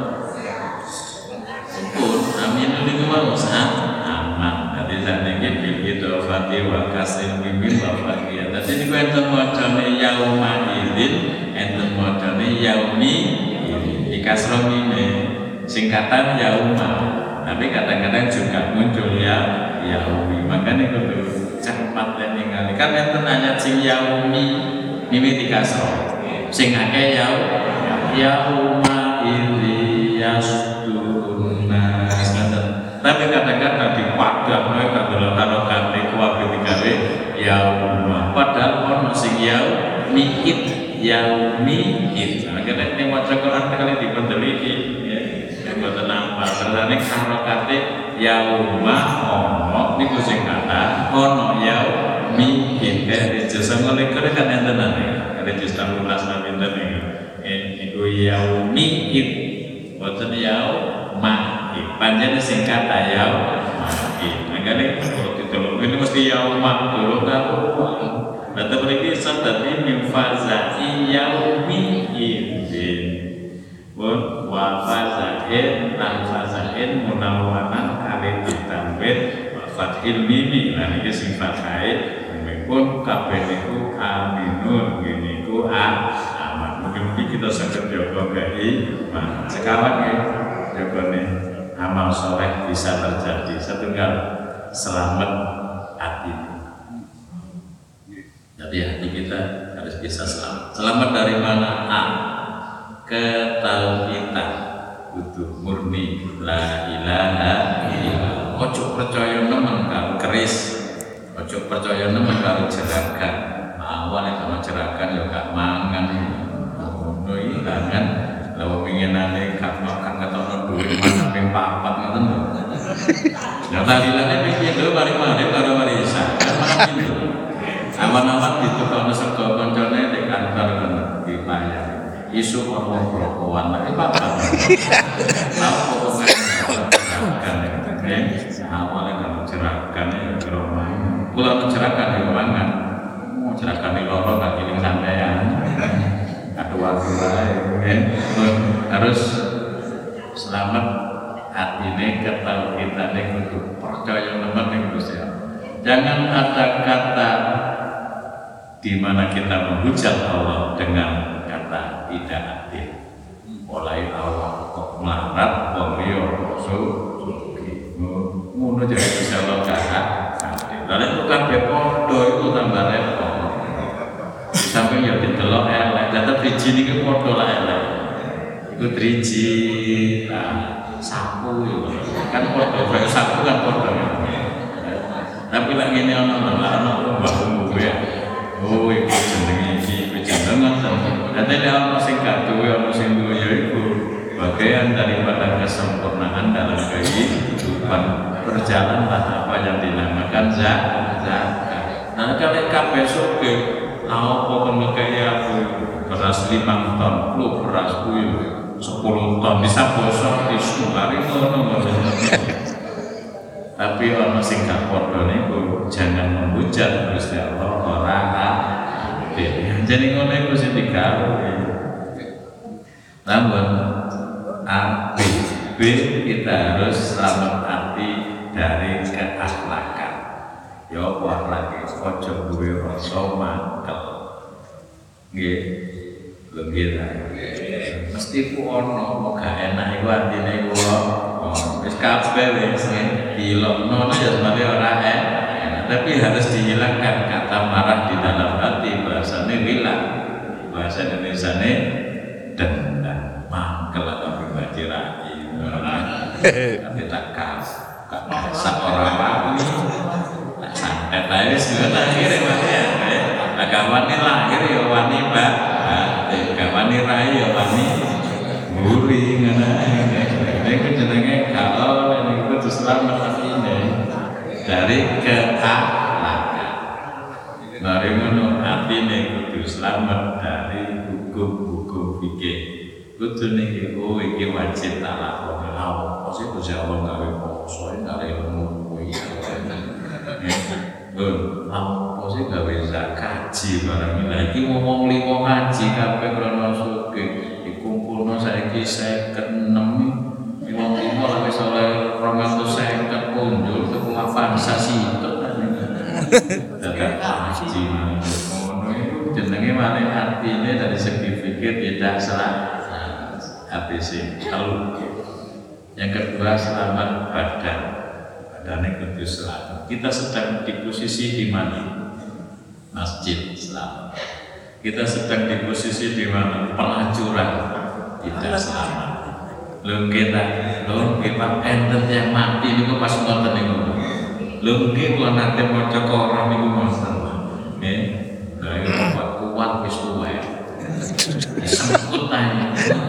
Pun amin ini kuat usaha aman. Jadi saat ini begitu fatih wa kasih bimbing wa fatih. Jadi ini kuat enten modalnya yauma idin, enten modalnya yaumi di kasrom ini singkatan yauma. Tapi kadang-kadang juga muncul ya yaumi. Makanya kudu cepat dan ningali. Kan enten ayat sing yaumi ini di kasrom. Sing akeh yau yauma idzi yasduruna. Tapi kadang-kadang di wadah mereka kalau harokat itu wadah digawe yauma. Padahal ono sing yau mi'id yaumid. Akhirnya ini wajah Quran kali dipendeliki ya. Yang boten nampak terane harokate yauma ono niku sing kata ono yaumid. Kayak dijasa oleh kene kan enten ane. Ada juz enam belas nabi enten iki. Iku yaumid. Boten yauma. Panjangnya singkat ayam mati. Makanya kalau ditolong ini mesti yaumah dulu kalau data berikut tadi mimfazai yaumi idin pun wafazain tanfazain munawanan kali ditambah fathil mimi. Nah ini sifat kait pun kabeh niku aminun gini ku aman. Mungkin kita saged jaga gai sekarang ya jaga nih amal soleh bisa terjadi. Setunggal selamat hati. Jadi hati kita harus bisa selamat. Selamat dari mana? A. Ketauhidan. Kudu murni la ilaha illallah. Ojo percaya nemen karo keris. Ojo percaya nemen karo jeragan. Awalnya kalau jeragan ya gak mangan. Ngono iki kan. Lalu pengenane kak makan ketono duit mana ping papat ngoten lho. Ya talilane piye lho mari-mari karo warisan. Kan malah gitu. Awan-awan ditukokno sego koncone nek kantor kono dibayar. Isu orang rokokan lagi papat. Tahu pokoknya kan ya. Awalnya kalau cerakan ya geromah. Kula mencerahkan di mangan. Mau cerahkan di loro gak kiling sampean. Ada waktu lain harus selamat hati ini ketahui kita ini untuk percaya teman yang berusia. Jangan ada kata di mana kita menghujat Allah dengan kata tidak adil. Mulai Allah kok melarat, wong rasul, ngono jadi bisa Allah kata adil. Lalu itu kan bepodo itu tambah repot. Sampai ya didelok elek, tetap driji niki padha lah elek. Iku driji, nah, sapu yo. Kan padha, bae sapu kan padha. Tapi lek ngene ana lha ana mbah ya. Oh, iku jenenge iki, iku jenenge ngoten. Dadi lek ana sing gak duwe ana sing duwe ya iku bagian daripada kesempurnaan dalam kehidupan. Berjalanlah apa yang dinamakan zakat. Nah, kalau kabeh sugih apa kan kaya aku beras lima ton, lu beras kuyu sepuluh ton bisa bosok di sumari ngono. Tapi orang sing gak padha niku jangan menghujat Gusti Allah ora adil. Jadi ngono iku sing digawe. Namun A, B, B kita harus selamat hati dari keakhlakan. Ya apa lagi ojo duwe rasa mangkel. Nggih. Lho nggih ta. Mesti ku ono kok gak enak iku artine iku. Oh, wis kabeh wis dilokno ya sebenarnya ora enak, tapi harus dihilangkan kata marah di dalam hati. Bahasane hilang. Bahasa Indonesiane dendam, mangkel atau pribadi rai. Kita kas, sak ora wani. Santet ae wis ngono akhire ya. Agawani lahir ya wani Mbak. Agawani rai ya wani mburi ngono ae. Iku jenenge kalau niku kudu selamat atine dari keakhlakan. Mari ngono atine kudu selamat dari hukum-hukum fikih. Kudu niki oh iki wajib tak lakoni. Lah, pasti Gusti Allah gawe poso gawe ilmu kuwi. Lho, apa sih gawe zakat haji barang iki ngomong limo haji kabeh krana sugih dikumpulno saiki seket enam wong limo lha wis oleh dua ratus seket punjul tuku Avanza sitok zakat haji ngono iku jenenge malah artine dari segi fikih tidak salah A B C. Lalu yang kedua selamat badan. Badannya kudu selamat. Kita sedang di posisi di mana? Masjid selamat. Kita sedang di posisi di mana? Pelacuran tidak selamat. Lho kita, lho kita enten yang mati niku pas ngoten niku. Lho nggih kula nate maca Quran niku ngoten. Nggih. Lah kuat kuat wis tuwek. Sengkut ae.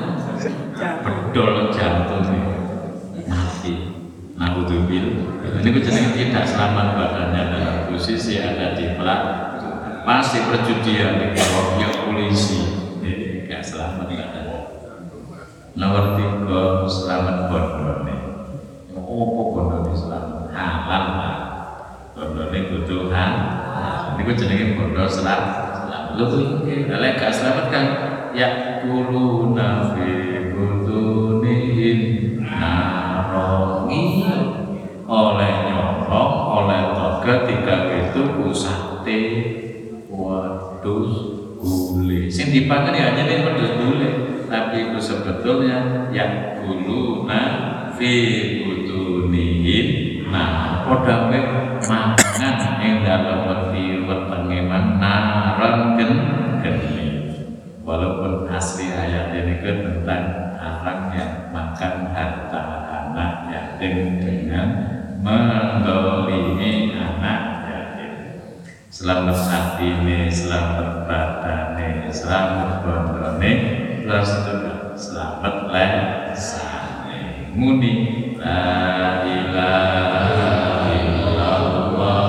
Bedol jantung mati. Naudzubillah. Ini ku jenenge tidak selamat badannya dalam posisi ada di pelacuran. Pasti perjudian di kelompok polisi. Jadi tidak selamat badannya. Nomor tiga selamat bondone. Apa bondone selamat? Halal lah. Bondone kudu halal. Ini ku jenenge bondo selamat. Lho iki lek gak selamat kan ya kuluna fi butunihim narongi oleh nyolong oleh toga tiga itu sate wadus gule sing dipangan ya hanya nih wadus gule tapi itu sebetulnya yang kuluna fi butunihim nah podame mangan yang dalam wati wetenge naron gen geni walaupun asli ayat ini tentang orang yang makan harta anak yatim dengan mendolimi anak yatim. Selamat hatine, selamat badane, selamat bondone, terus juga selamat lesane. Muni la ilaha illallah.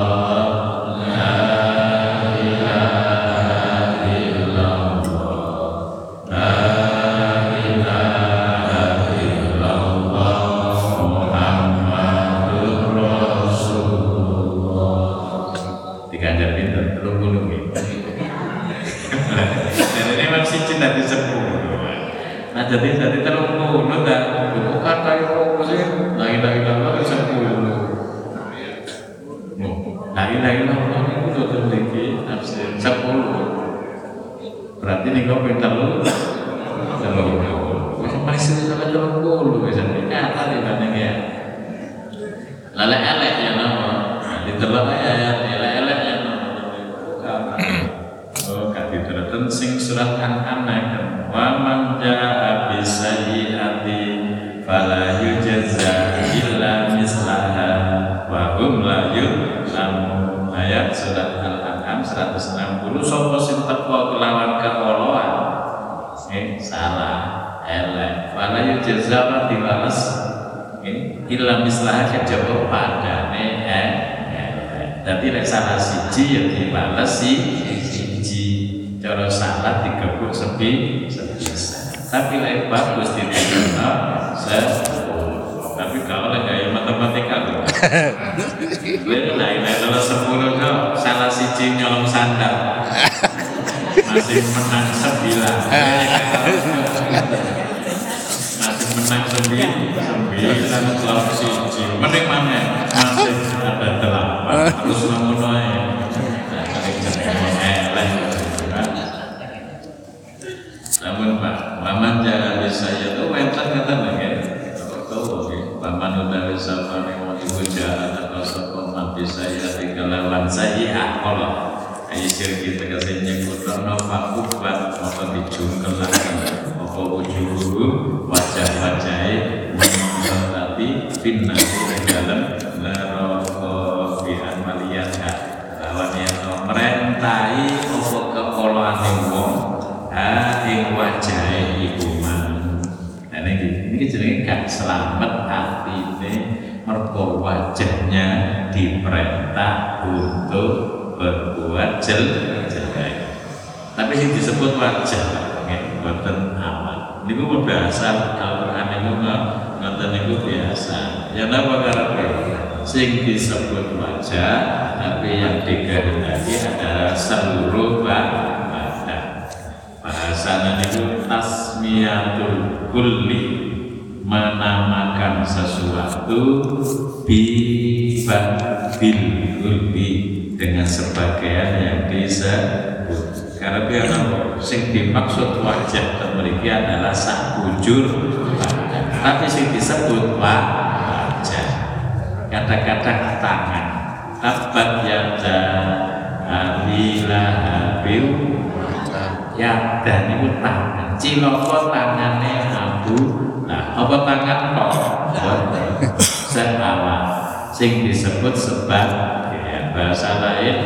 Jadi jadi terus ngono ta bukan kaya opo sih lagi lagi lagi sepuluh lagi lagi lagi itu tuh tinggi absen sepuluh berarti nih kau pintar lu terlalu bisa masih salah terlalu dulu bisa nyata di mana ya lele elek ya nama di terlalu ayat lele elek ya nama oh kaki terus sing surat an-an wa man jaa bisayyi'ati fala yujza illa mislaha wa hum la yuzlamun. Ayat surat Al-An'am seratus enam puluh sapa sing teko kelawan keoloan eh salah elek fala yujza wa dibales eh illa mislaha kejaba padane eh dadi nek salah siji ya dibales si cara salah digebuk sepi sebisa tapi lek bagus diterima sepuluh tapi kalau lek gaya matematika lho lek lek lek sepuluh kok salah siji nyolong sandal masih menang sembilan masih menang sembilan sembilan lawan siji mending mana masih ada delapan terus namun ae nah kali jenenge elek namun Pak, paman jangan bisa ya tuh mental kata lagi, tahu oke, paman udah bisa panen ibu jalan atau sekolah bisa ya tiga lawan saya kalau ayo kita kasih nyebut nama Pak Ubat atau dijungkel lagi, apa ujung wajah wajahnya menonton tadi finna di dalam neraka fi amaliyah lawan yang merintai apa kekoloan wong ing wajahe iku man. Nah niki niki jenenge gak selamat atine mergo wajahnya diperintah untuk berbuat jelek. Tapi sing disebut wajah nggih boten awak. Niku bahasa Al-Qur'an niku ngoten niku biasa. Ya napa karepe sing disebut wajah tapi yang dikehendaki adalah seluruh badan. Bahasana niku tasmiyatul kulli, menamakan sesuatu bibabil kulli dengan sebagian yang disebut. Karena biar sing dimaksud wajah memiliki adalah sak bujur badan, tapi sing disebut wajah kata-kata tangan. Tabat yada abila habil yada niku tangan, ciloko tangane Abu. Nah, apa tangan kok? Seawak sing disebut sebab ya, bahasa lain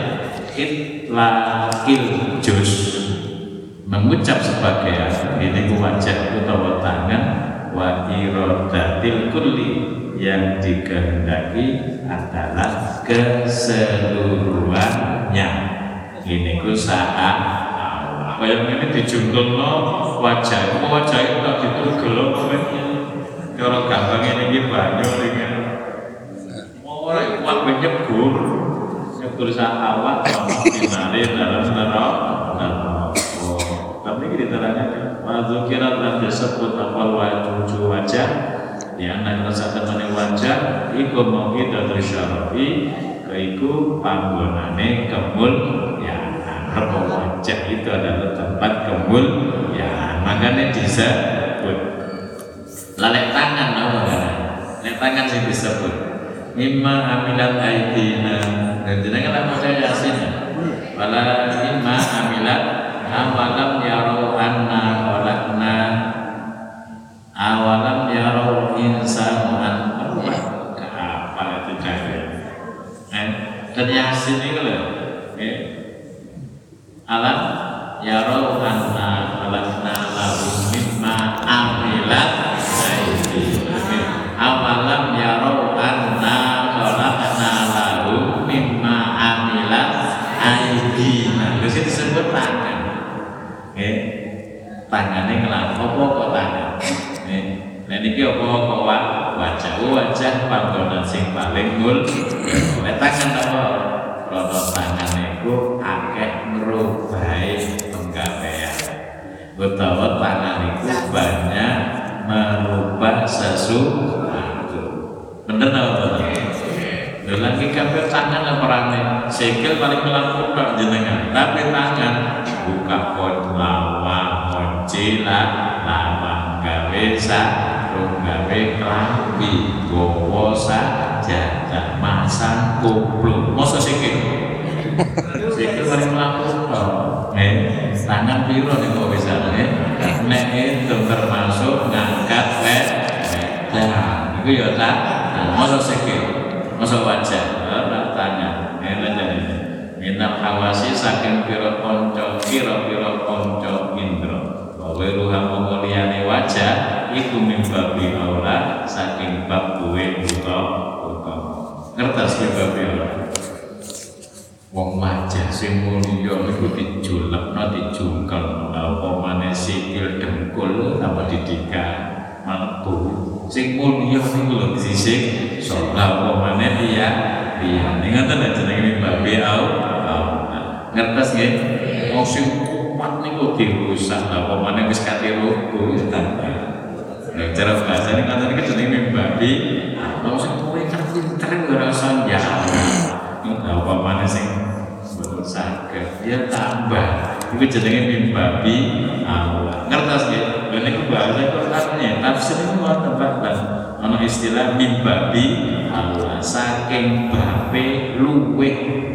itlaqil juz, mengucap sebagian ini wajah utawa tangan, wa iradatil kulli yang dikehendaki adalah keseluruhannya. Ini ku saat kaya ngene dijungkelno wajah, wajah itu tak ditugel apa cara gampang ini banyu iki. Ora kuat nyebur. Nyebur sak awak finale dalam neraka. Oh, tapi iki diterangkan wa dzukira lan disebut apa wajah wajah yang nang rasa temene wajah iku mungkin dari syarafi kaiku panggonane kemul ya. Karena wajah itu adalah tempat kemul ya, makanya disebut lalek tangan apa kan? Lalek tangan sih disebut mimma amilat aidina, dan jenengan apa saya yasin wala mimma amilat awalam yarau anna khalaqna awalam yarau insanu an apa itu jadi eh dan yasin itu loh eh alam yarau anna khalaqna lahum mimma amilat aydihim awalam yarau anna khalaqna lahum mimma amilat aydihim. Terus itu disebut tangan. Nggih. Tangane ngelakuin apa kok tangan. Nggih. Lah niki apa kok wajah wajah panggonan sing paling mul. Nek tangan apa? Rono tangan iku akeh ngerubai penggawean utawa tangan iku banyak merubah sesuatu. Bener apa bener? Lha lagi kabeh tangan apa rame? Sikil paling melaku tok jenengan, tapi tangan buka pon lawa kunci lawang gawe sarung gawe klambi gowo sajadah masang kupluk mosok sikil sikil paling melaku tok eh tangan piro nih kok bisa nih nek itu termasuk ngangkat wedah itu ya tak mosok sikil mosok wajah ora tangan enak jadi minal hawasi saking piro konco piro piro konco indro bahwa ruham mengoliane wajah iku mimbabi aula saking bab duwe buka buka ngertas ke babi aula wong wajah sing mulya iku dijulekno dijungkel apa maneh sikil dengkul apa didikan mlebu sing mulya niku lho sisik sok apa maneh dia dia ngoten jenenge babi aula ngertas nggih wong sing kuat niku dirusak apa maneh wis kate rubuh nah cara bahasa ini kata ini jenenge babi wong sing kowe kan pinter ora usah njaluk apa maneh sing betul saged dia tambah iku jenenge babi aula ngertas nggih lha niku bahasa Qur'ane tafsir niku ngoten Pak ana istilah mimbabi aula saking babe luweh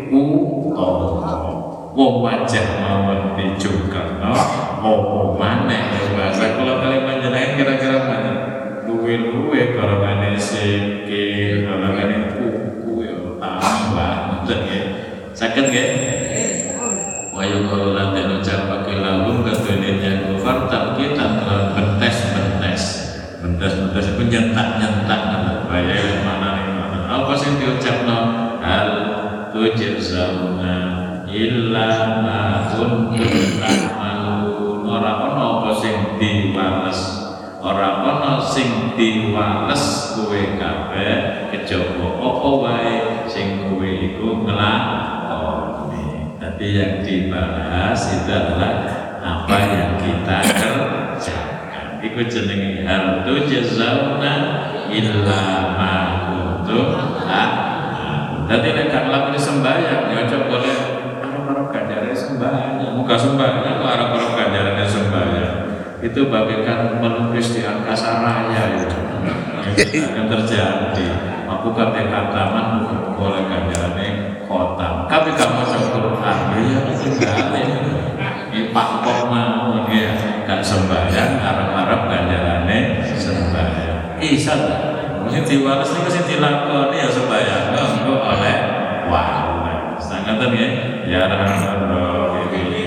utawa wong wajah mawon dijungkelno apa maneh bahasa kula kali panjenengan kira-kira mana luwe-luwe karane sikil karane kuku ya tambah ngoten nggih saged nggih wayu kula lan den ucapake lahum kadene yang fartab kita telah bentes-bentes bentes-bentes itu nyentak-nyentak bayar mana nih mana apa sih diucapno hal tujzauna illa ma kuntum sing diwales kowe kabeh kejaba apa wae sing kowe iku nglakoni. Dadi yang dibahas itu adalah apa yang kita kerjakan. Iku jenenge hal tujzauna illa ma kuntum ta'malun. Dadi nek gak nglakoni sembahyang ya aja boleh arep-arep ganjarane sembahyang. Muga sembahyang kok arep-arep ganjarane sembahyang. Itu bagaikan melukis di angkasa raya itu akan terjadi. Aku kata kataman boleh ganjarannya kota, tapi kamu coba Quran ya tinggalin di pakpok mau dia gak sembahyang harap-harap ganjarannya sembahyang. Isa lah, mesti diwales ini mesti dilakoni ya sembahyang enggak oleh wah. Sangat ya ya rahman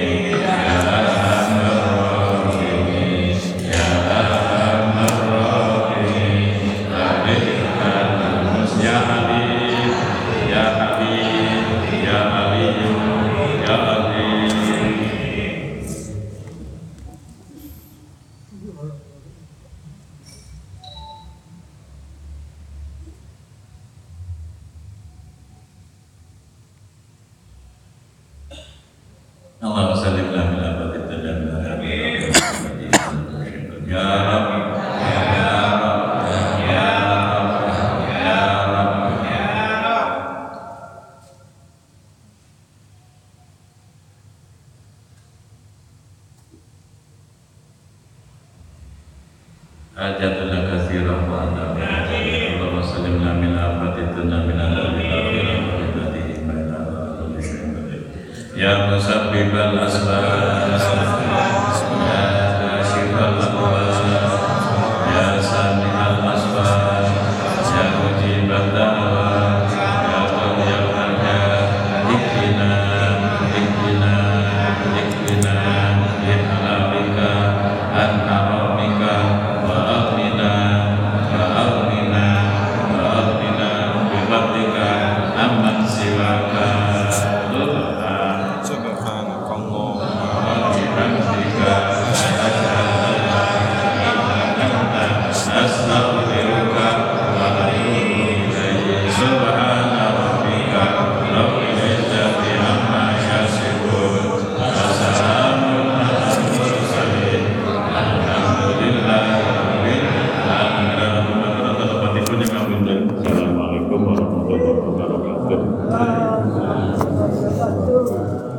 Allah sallim ala nabi dan ya Rabb ya Rabb ya Rabb ya Rabb ya Rabb. Hajatullah katsirah wa anta Allah sallim ala nabi dan ya musabbibal asbab